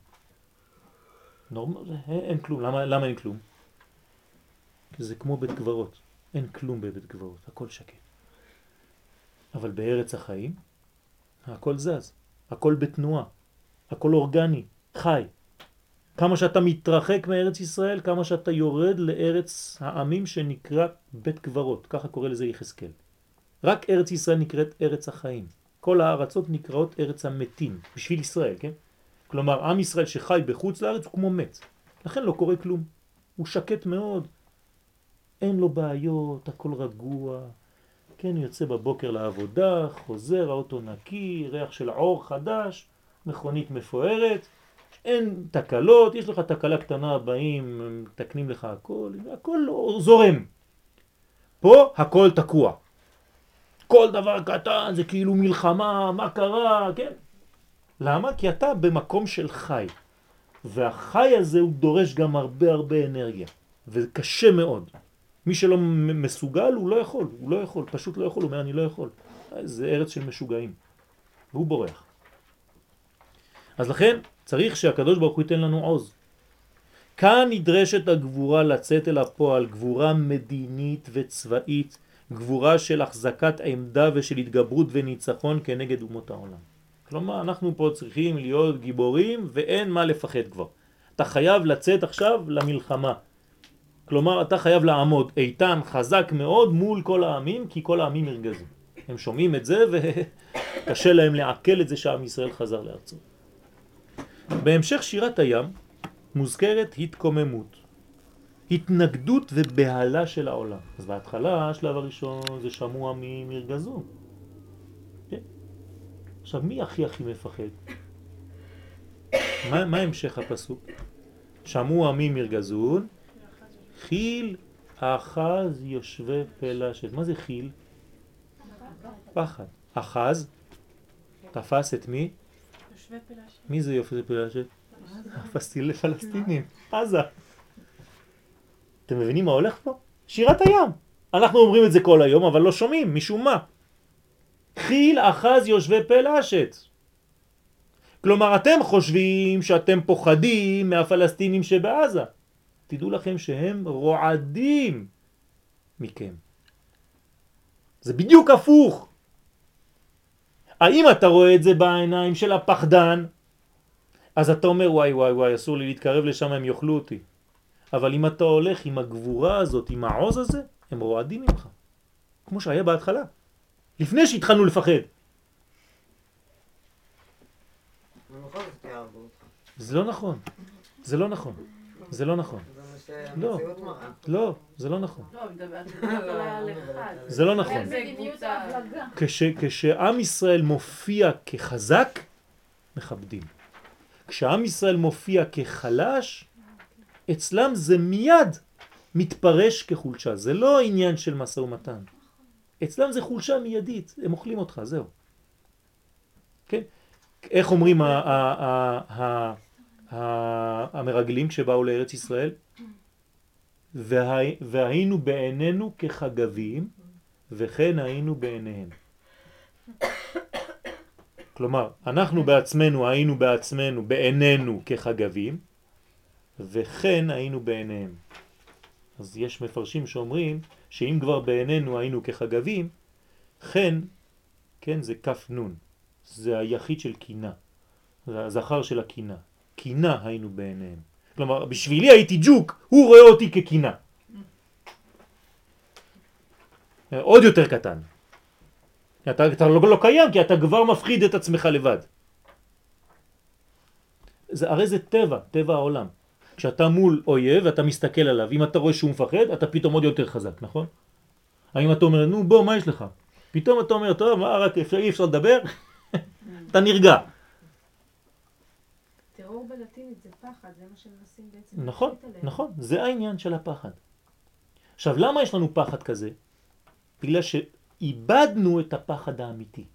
אין כלום. למה אין כלום? כי זה כמו בית קברות. אין כלום בבית קברות, הכל שקט. אבל בארץ החיים, הכל זז. הכל בתנועה, הכל אורגני, חי. כמה שאתה מתרחק מארץ ישראל, כמה שאתה יורד לארץ העמים שנקרא בית קברות, ככה קורא לזה יחזקאל. רק ארץ ישראל נקראת ארץ החיים. כל הארצות נקראות ארץ המתים, בשביל ישראל, כן? כלומר, עם ישראל שחי בחוץ לארץ הוא כמו מת. לכן לא קורה כלום. הוא שקט מאוד. אין לו בעיות, הכל רגוע. כן, יוצא בבוקר לעבודה, חוזר, האוטו נקי, ריח של עור חדש, מכונית מפוארת, אין תקלות, יש לך תקלה קטנה, באים, תקנים לך הכל, הכל זורם. פה הכל תקוע. כל דבר קטן זה כאילו מלחמה, מה קרה, כן? למה? כי אתה במקום של חי. והחי הזה הוא דורש גם הרבה אנרגיה, וקשה מאוד. מי שלא מסוגל הוא לא יכול, פשוט לא יכול, הוא אומר אני לא יכול. זה ארץ של משוגעים, והוא בורח. אז לכן צריך שהקדוש ברוך הוא ייתן לנו עוז. כאן נדרשת הגבורה לצאת אל הפועל, גבורה מדינית וצבאית, גבורה של החזקת עמדה ושל התגברות וניצחון כנגד אומות העולם. כלומר אנחנו פה צריכים להיות גיבורים ואין מה לפחד כבר. אתה חייב לצאת עכשיו למלחמה. כלומר, אתה חייב לעמוד איתן, חזק מאוד מול כל העמים, כי כל העמים ירגזו. הם שומעים את זה וקשה להם לעכל את זה שעם ישראל חזר לארצו. בהמשך שירת הים מוזכרת התקוממות, התנגדות ובהלה של העולם. אז בהתחלה, השלב הראשון זה שמעו עמים ירגזו. כן? עכשיו, מי הכי מפחד? מה המשך הפסוק? שמעו עמים ירגזון, חיל אחז יושבי פלשת. מה זה חיל? פחד. אחז תפס את מי? יושבי פלשת. מי זה יושבי פלשת? הפלסטינים, עזה. אתם מבינים מה הולך פה? שירת הים. אנחנו אומרים את זה כל היום, אבל לא שומעים, משום מה. חיל אחז יושבי פלשת. כלומר, אתם חושבים שאתם פוחדים מהפלסטינים שבעזה. תדעו לכם שהם רועדים מכם. זה בדיוק הפוך. האם אתה רואה את זה בעיניים של הפחדן? אז אתה אומר וואי, אסור לי להתקרב לשם, הם יאכלו אותי. אבל אם אתה הולך עם הגבורה הזאת, עם העוז הזה, הם רועדים ממך. כמו שהיה בהתחלה. לפני שהתחלנו לפחד. זה לא נכון. זה לא נכון. זה לא נכון. לא, לא, זה לא נכון. זה לא נכון. כשעם ישראל מופיע כחזק, מכבדים. כשעם ישראל מופיע כחלש, אצלם זה מיד מתפרש כחולשה. זה לא עניין של משא ומתן. אצלם זה חולשה מיידית. הם אוכלים אותך, זהו. כן? איך אומרים המרגלים כשבאו לארץ ישראל? והיינו בעינינו כחגבים וכן היינו בעיניהם. כלומר, אנחנו בעצמנו היינו בעצמנו בעינינו כחגבים וכן היינו בעיניהם. אז יש מפרשים שאומרים שאם כבר בעינינו היינו כחגבים, כן, כן, זה כף נון, זה היחיד של קינה, זה הזכר של הקינה. קינה היינו בעיניהם. כלומר, בשבילי הייתי ג'וק, הוא רואה אותי כקינה. עוד יותר קטן. אתה לא קיים, כי אתה כבר מפחיד את עצמך לבד. הרי זה טבע, טבע העולם. כשאתה מול אויב ואתה מסתכל עליו, אם אתה רואה שהוא מפחד, אתה פתאום עוד יותר חזק, נכון? האם אתה אומר, נו בוא, מה יש לך? פתאום אתה אומר, טוב, מה, רק אי אפשר לדבר? אתה נרגע. טרור בלטינית זה פחד, זה מה שמנסים בעצם... נכון, נכון, זה העניין של הפחד. עכשיו, למה יש לנו פחד כזה? בגלל שאיבדנו את הפחד האמיתי.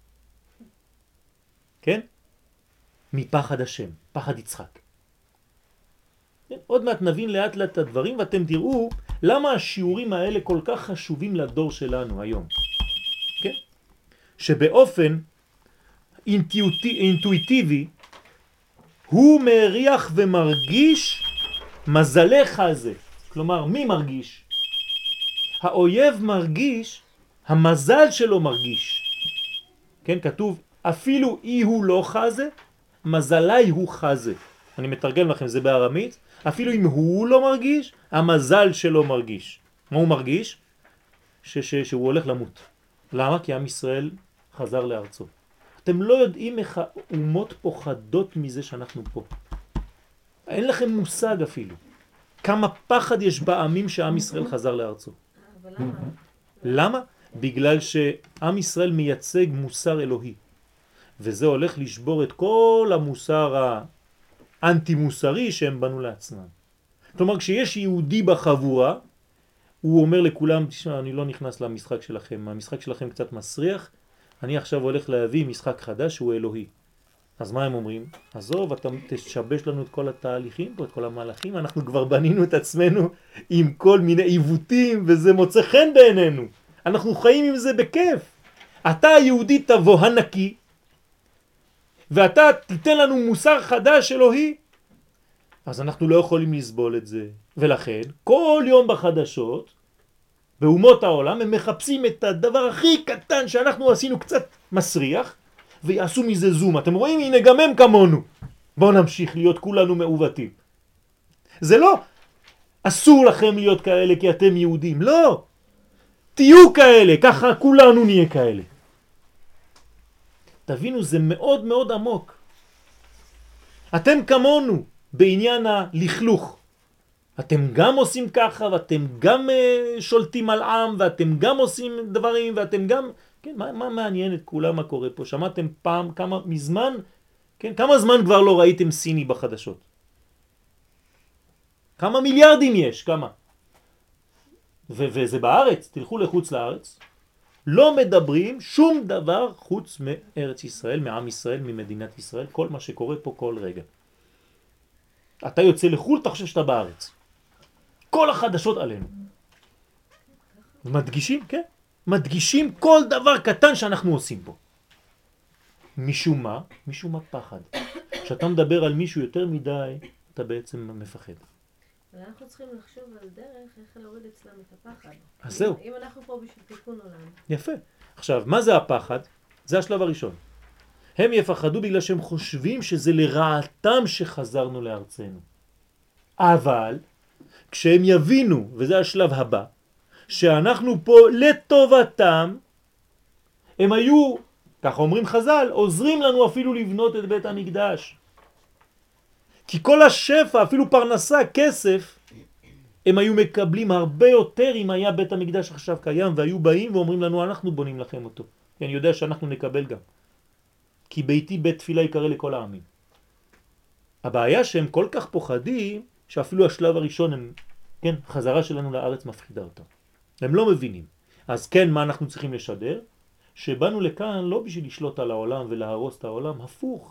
כן? מפחד השם, פחד יצחק. עוד מעט נבין לאט לאט את הדברים ואתם תראו למה השיעורים האלה כל כך חשובים לדור שלנו היום. כן? שבאופן אינטואיטיבי הוא מריח ומרגיש מזלך הזה. כלומר, מי מרגיש? האויב מרגיש, המזל שלו מרגיש. כן, כתוב, אפילו אי הוא לא חזה, מזלי הוא חזה. אני מתרגם לכם, זה בארמית. אפילו אם הוא לא מרגיש, המזל שלו מרגיש. מה הוא מרגיש? שהוא הולך למות. למה? כי עם ישראל חזר לארצו. אתם לא יודעים איך האומות פוחדות מזה שאנחנו פה. אין לכם מושג אפילו. כמה פחד יש בעמים שעם ישראל חזר לארצו. אבל למה? למה? בגלל שעם ישראל מייצג מוסר אלוהי. וזה הולך לשבור את כל המוסר האנטי מוסרי שהם בנו לעצמם. כלומר, כשיש יהודי בחבורה, הוא אומר לכולם, תשמע, אני לא נכנס למשחק שלכם, המשחק שלכם קצת מסריח, אני עכשיו הולך להביא משחק חדש שהוא אלוהי. אז מה הם אומרים? עזוב, אתה תשבש לנו את כל התהליכים פה, את כל המהלכים, אנחנו כבר בנינו את עצמנו עם כל מיני עיוותים, וזה מוצא חן בעינינו. אנחנו חיים עם זה בכיף. אתה היהודי תבוא הנקי, ואתה תיתן לנו מוסר חדש אלוהי, אז אנחנו לא יכולים לסבול את זה. ולכן, כל יום בחדשות, באומות העולם, הם מחפשים את הדבר הכי קטן שאנחנו עשינו קצת מסריח, ויעשו מזה זום. אתם רואים? הנה גם הם כמונו. בואו נמשיך להיות כולנו מעוותים. זה לא, אסור לכם להיות כאלה כי אתם יהודים. לא. תהיו כאלה, ככה כולנו נהיה כאלה. תבינו, זה מאוד מאוד עמוק. אתם כמונו בעניין הלכלוך. אתם גם עושים ככה, ואתם גם שולטים על עם, ואתם גם עושים דברים, ואתם גם... כן, מה מעניין את כולם מה קורה פה? שמעתם פעם, כמה מזמן, כן, כמה זמן כבר לא ראיתם סיני בחדשות? כמה מיליארדים יש? כמה? וזה בארץ, תלכו לחוץ לארץ, לא מדברים שום דבר חוץ מארץ ישראל, מעם ישראל, ממדינת ישראל, כל מה שקורה פה כל רגע. אתה יוצא לחול, אתה חושב שאתה בארץ. כל החדשות עלינו. מדגישים, כן? מדגישים כל דבר קטן שאנחנו עושים פה. משום מה? משום מה פחד. כשאתה מדבר על מישהו יותר מדי, אתה בעצם מפחד. אבל אנחנו צריכים לחשוב על דרך איך להוריד אצלם את הפחד. אז זהו. אם אנחנו פה בשביל תיקון עולם. יפה. עכשיו, מה זה הפחד? זה השלב הראשון. הם יפחדו בגלל שהם חושבים שזה לרעתם שחזרנו לארצנו. אבל, כשהם יבינו, וזה השלב הבא, שאנחנו פה לטובתם, הם היו, כך אומרים חז"ל, עוזרים לנו אפילו לבנות את בית המקדש. כי כל השפע, אפילו פרנסה, כסף, הם היו מקבלים הרבה יותר אם היה בית המקדש עכשיו קיים, והיו באים ואומרים לנו, אנחנו בונים לכם אותו. כי אני יודע שאנחנו נקבל גם. כי ביתי בית תפילה יקרא לכל העמים. הבעיה שהם כל כך פוחדים, שאפילו השלב הראשון, הם, כן, חזרה שלנו לארץ מפחידה אותם. הם לא מבינים. אז כן, מה אנחנו צריכים לשדר? שבאנו לכאן לא בשביל לשלוט על העולם ולהרוס את העולם, הפוך.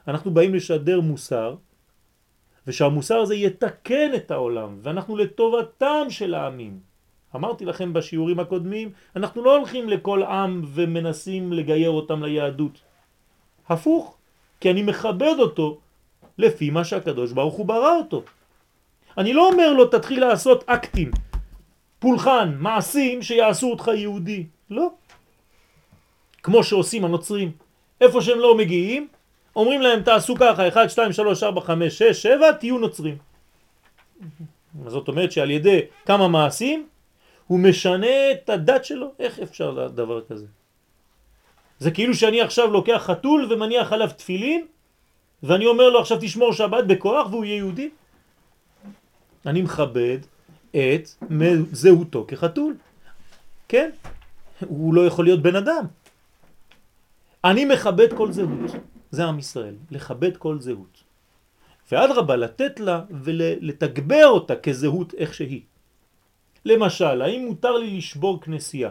אנחנו באים לשדר מוסר, ושהמוסר הזה יתקן את העולם, ואנחנו לטובתם של העמים. אמרתי לכם בשיעורים הקודמים, אנחנו לא הולכים לכל עם ומנסים לגייר אותם ליהדות. הפוך, כי אני מכבד אותו לפי מה שהקדוש ברוך הוא ברא אותו. אני לא אומר לו תתחיל לעשות אקטים, פולחן, מעשים שיעשו אותך יהודי. לא. כמו שעושים הנוצרים. איפה שהם לא מגיעים, אומרים להם תעשו ככה, 1, 2, 3, 4, 5, 6, 7, תהיו נוצרים. זאת אומרת שעל ידי כמה מעשים, הוא משנה את הדת שלו. איך אפשר דבר כזה? זה כאילו שאני עכשיו לוקח חתול ומניח עליו תפילין, ואני אומר לו עכשיו תשמור שבת בכוח והוא יהיה יהודי. אני מכבד את זהותו כחתול. כן? הוא לא יכול להיות בן אדם. אני מכבד כל זהות. זה עם ישראל, לכבד כל זהות. ואדרבה, לתת לה ולתגבר אותה כזהות איך שהיא. למשל, האם מותר לי לשבור כנסייה?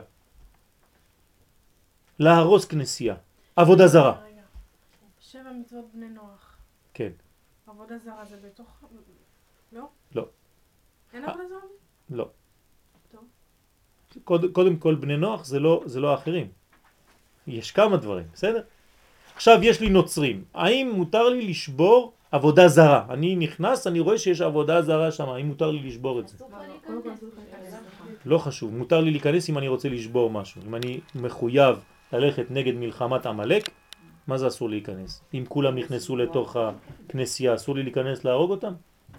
להרוס כנסייה? עבודה זרה. 7 מצוות בני נוח. כן. עבודה זרה זה בתוך... לא? לא. אין עבודה זרה? לא. טוב. קודם כל בני נוח זה לא האחרים. יש כמה דברים, בסדר? עכשיו יש לי נוצרים. האם מותר לי לשבור עבודה זרה? אני נכנס, אני רואה שיש עבודה זרה שם. האם מותר לי לשבור את זה? לא חשוב. מותר לי להיכנס אם אני רוצה לשבור משהו. אם אני מחויב ללכת נגד מלחמת עמלק, מה זה אסור להיכנס? אם כולם נכנסו לתוך הכנסייה, אסור לי להיכנס להרוג אותם?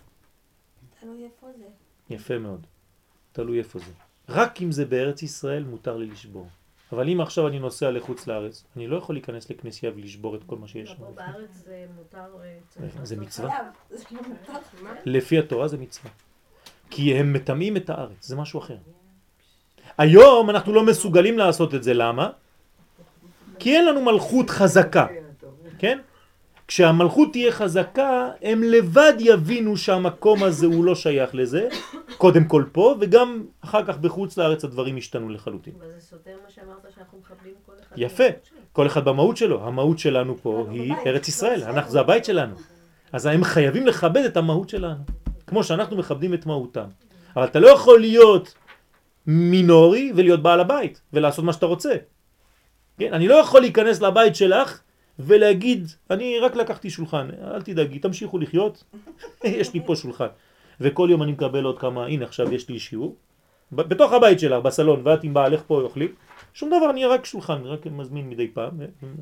תלוי איפה זה. יפה מאוד. תלוי איפה זה. רק אם זה בארץ ישראל מותר לי לשבור. אבל אם עכשיו אני נוסע לחוץ לארץ, אני לא יכול להיכנס לכנסייה ולשבור את כל מה שיש. פה בארץ זה מותר... זה מצווה. לפי התורה זה מצווה. כי הם מטמאים את הארץ, זה משהו אחר. היום אנחנו לא מסוגלים לעשות את זה, למה? כי אין לנו מלכות חזקה, כן? כשהמלכות תהיה חזקה, הם לבד יבינו שהמקום הזה הוא לא שייך לזה, קודם כל פה, וגם אחר כך בחוץ לארץ הדברים השתנו לחלוטין. אבל זה סותר מה שאמרת שאנחנו מכבדים כל אחד. יפה, כל אחד במהות שלו. המהות שלנו פה היא ארץ ישראל, זה הבית שלנו. אז הם חייבים לכבד את המהות שלנו, כמו שאנחנו מכבדים את מהותם. אבל אתה לא יכול להיות מינורי ולהיות בעל הבית, ולעשות מה שאתה רוצה. כן? אני לא יכול להיכנס לבית שלך ולהגיד, אני רק לקחתי שולחן, אל תדאגי, תמשיכו לחיות, יש לי פה שולחן. וכל יום אני מקבל עוד כמה, הנה עכשיו יש לי שיעור, בתוך הבית שלך, בסלון, ואת עם בעלך פה אוכלים, שום דבר, אני רק שולחן, רק מזמין מדי פעם.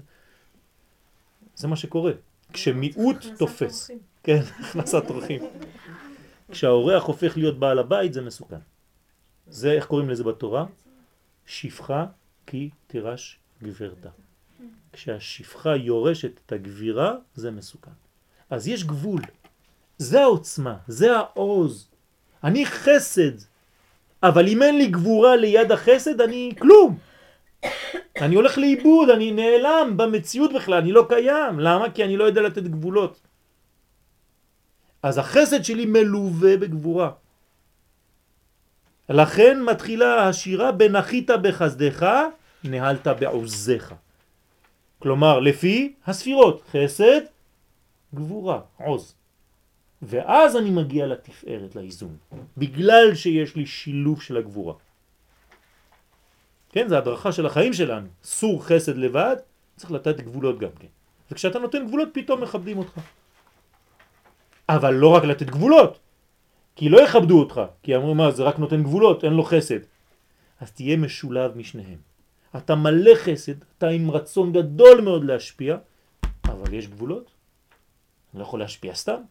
זה מה שקורה. כשמיעוט תופס. כן, הכנסת אורחים. כשהאורח הופך להיות בעל הבית זה מסוכן. זה, איך קוראים לזה בתורה? שפחה כי תירש גברתה. כשהשפחה יורשת את הגבירה זה מסוכן. אז יש גבול. זה העוצמה, זה העוז. אני חסד. אבל אם אין לי גבורה ליד החסד אני כלום. אני הולך לאיבוד, אני נעלם במציאות בכלל, אני לא קיים. למה? כי אני לא יודע לתת גבולות. אז החסד שלי מלווה בגבורה. לכן מתחילה השירה בנחית בחסדך, נהלת בעוזך. כלומר, לפי הספירות, חסד, גבורה, עוז. ואז אני מגיע לתפארת, לאיזון. בגלל שיש לי שילוב של הגבורה. כן, זה הדרכה של החיים שלנו. סור חסד לבד, צריך לתת גבולות גם כן. וכשאתה נותן גבולות, פתאום מכבדים אותך. אבל לא רק לתת גבולות, כי לא יכבדו אותך, כי אמרו מה, זה רק נותן גבולות, אין לו חסד. אז תהיה משולב משניהם. אתה מלא חסד, אתה עם רצון גדול מאוד להשפיע, אבל יש גבולות. אני לא יכול להשפיע סתם.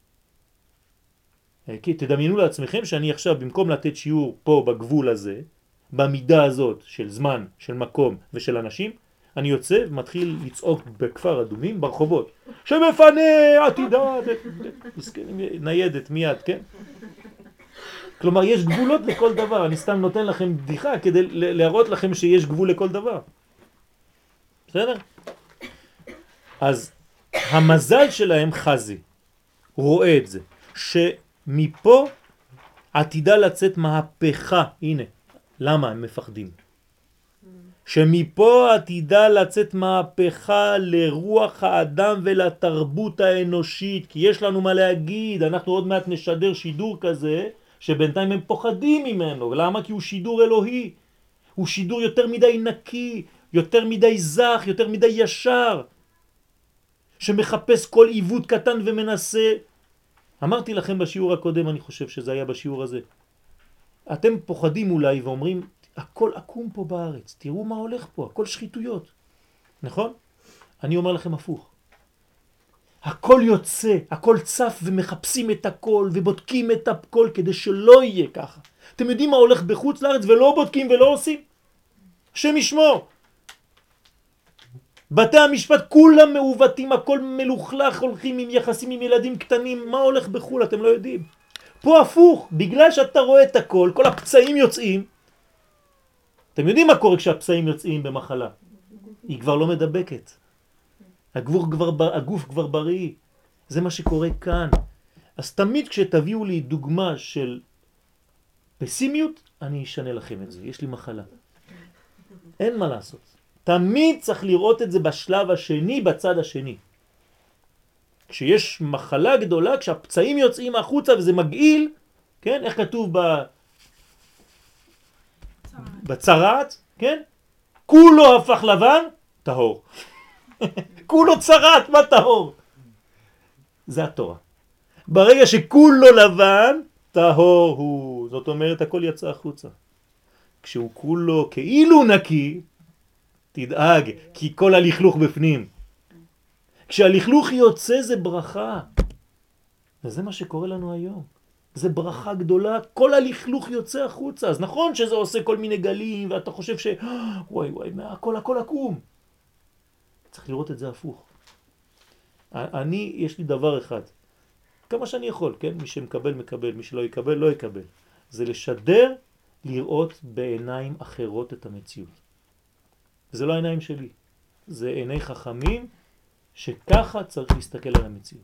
כי תדמיינו לעצמכם שאני עכשיו במקום לתת שיעור פה בגבול הזה, במידה הזאת של זמן, של מקום ושל אנשים, אני יוצא ומתחיל לצעוק בכפר אדומים ברחובות. שמפנה עתידה, ניידת מיד, כן? כלומר, יש גבולות לכל דבר. אני סתם נותן לכם בדיחה כדי להראות לכם שיש גבול לכל דבר. בסדר? אז המזל שלהם חזי, הוא רואה את זה, שמפה עתידה לצאת מהפכה. הנה, למה הם מפחדים? שמפה עתידה לצאת מהפכה לרוח האדם ולתרבות האנושית, כי יש לנו מה להגיד, אנחנו עוד מעט נשדר שידור כזה, שבינתיים הם פוחדים ממנו. למה? כי הוא שידור אלוהי, הוא שידור יותר מדי נקי, יותר מדי זך, יותר מדי ישר, שמחפש כל עיוות קטן ומנסה. אמרתי לכם בשיעור הקודם, אני חושב שזה היה בשיעור הזה, אתם פוחדים אולי ואומרים, הכל עקום פה בארץ, תראו מה הולך פה, הכל שחיתויות, נכון? אני אומר לכם הפוך, הכל יוצא, הכל צף ומחפשים את הכל ובודקים את הכל כדי שלא יהיה ככה. אתם יודעים מה הולך בחוץ לארץ ולא בודקים ולא עושים? השם ישמור. בתי המשפט כולם מעוותים, הכל מלוכלך, הולכים עם יחסים עם ילדים קטנים, מה הולך בחול אתם לא יודעים. פה הפוך, בגלל שאתה רואה את הכל, כל הפצעים יוצאים. אתם יודעים מה קורה כשהפצעים יוצאים במחלה? היא כבר לא מדבקת. הגוף כבר בריא. זה מה שקורה כאן. אז תמיד כשתביאו לי דוגמה של פסימיות, אני אשנה לכם את זה. יש לי מחלה. אין מה לעשות. תמיד צריך לראות את זה בשלב השני, בצד השני. כשיש מחלה גדולה, כשהפצעים יוצאים החוצה וזה מגעיל, כן? איך כתוב בצרעת, כן? כולו הפך לבן, טהור. כולו צרעת, מה טהור? זה התורה. ברגע שכולו לבן, טהור הוא. זאת אומרת, הכל יצא החוצה. כשהוא כולו כאילו נקי, תדאג, כי כל הלכלוך בפנים. כשהלכלוך יוצא זה ברכה. וזה מה שקורה לנו היום. זה ברכה גדולה, כל הלכלוך יוצא החוצה. אז נכון שזה עושה כל מיני גלים, ואתה חושב ש... וואי, הכל עקום. צריך לראות את זה הפוך. יש לי דבר אחד. כמה שאני יכול, כן? מי שמקבל, מקבל. מי שלא יקבל, לא יקבל. זה לשדר, לראות בעיניים אחרות את המציאות. זה לא העיניים שלי. זה עיני חכמים, שככה צריך להסתכל על המציאות.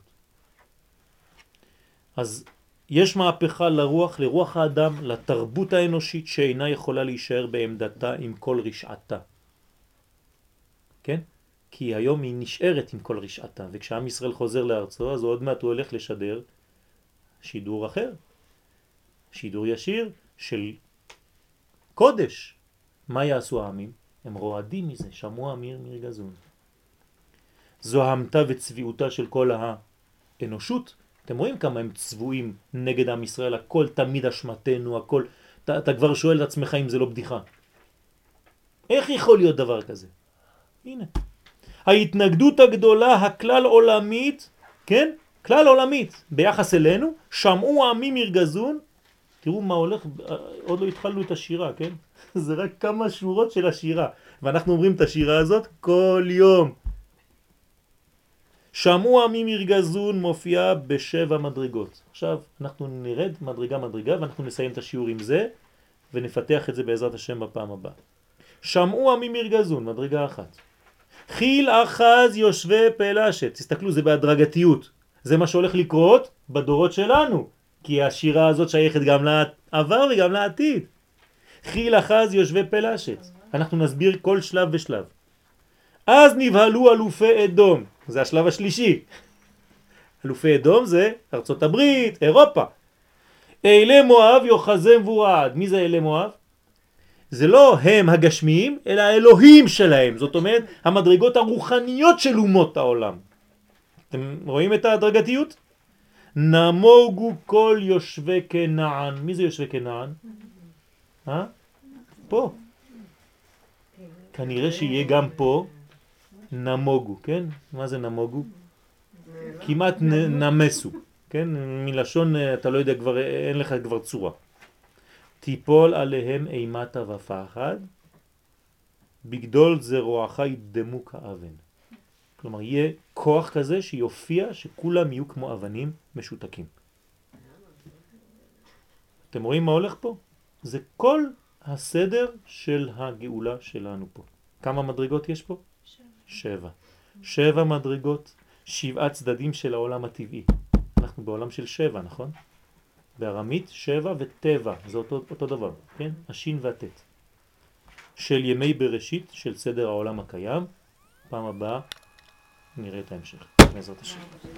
אז יש מהפכה לרוח האדם, לתרבות האנושית שאינה יכולה להישאר בעמדתה עם כל רשעתה. כן? כי היום היא נשארת עם כל רשעתה, וכשעם ישראל חוזר לארצו, אז עוד מעט הוא הולך לשדר שידור אחר. שידור ישיר של קודש. מה יעשו העמים? הם רועדים מזה, שמוע מיר גזון. זו ההמתה וצביעותה של כל האנושות. אתם רואים כמה הם צבועים נגד עם ישראל, הכל תמיד אשמתנו, הכל, אתה כבר שואל את עצמך אם זה לא בדיחה. איך יכול להיות דבר כזה? הנה. ההתנגדות הגדולה, הכלל עולמית, כן? כלל עולמית, ביחס אלינו, שמעו העמים ירגזון, תראו מה הולך, עוד לא התחלנו את השירה, כן? זה רק כמה שורות של השירה, ואנחנו אומרים את השירה הזאת כל יום. שמעו עמים ירגזון מופיע בשבע מדרגות. עכשיו אנחנו נרד מדרגה ואנחנו נסיים את השיעור עם זה ונפתח את זה בעזרת השם בפעם הבאה. שמעו עמים ירגזון, מדרגה אחת. חיל אחז יושבי פלשת. תסתכלו, זה בהדרגתיות. זה מה שהולך לקרות בדורות שלנו, כי השירה הזאת שייכת גם לעבר וגם לעתיד. חיל אחז יושבי פלשת. אנחנו נסביר כל שלב ושלב. אז נבהלו אלופי אדום. זה השלב השלישי. אלופי אדום זה ארצות הברית, אירופה. אלי מואב יוחזם ורעד. מי זה אלי מואב? זה לא הם הגשמיים, אלא האלוהים שלהם. זאת אומרת, המדרגות הרוחניות של אומות העולם. אתם רואים את ההדרגתיות? נמוגו כל יושבי כנען. מי זה יושבי כנען? פה. כנראה שיהיה גם פה נמוגו, כן? מה זה נמוגו? כמעט נמסו, כן? מלשון אתה לא יודע כבר, אין לך כבר צורה. תיפול עליהם אימתה ופחד, בגדול זרועך ידמו כאבן. כלומר, יהיה כוח כזה שיופיע שכולם יהיו כמו אבנים משותקים. אתם רואים מה הולך פה? זה כל הסדר של הגאולה שלנו פה. כמה מדרגות יש פה? 7. 7 מדרגות, 7 צדדים של העולם הטבעי. אנחנו בעולם של 7, נכון? בארמית 7 וטבע, זה אותו דבר, כן? השין והטט. של ימי בראשית, של סדר העולם הקיים. פעם הבאה נראה את ההמשך, בעזרת השם.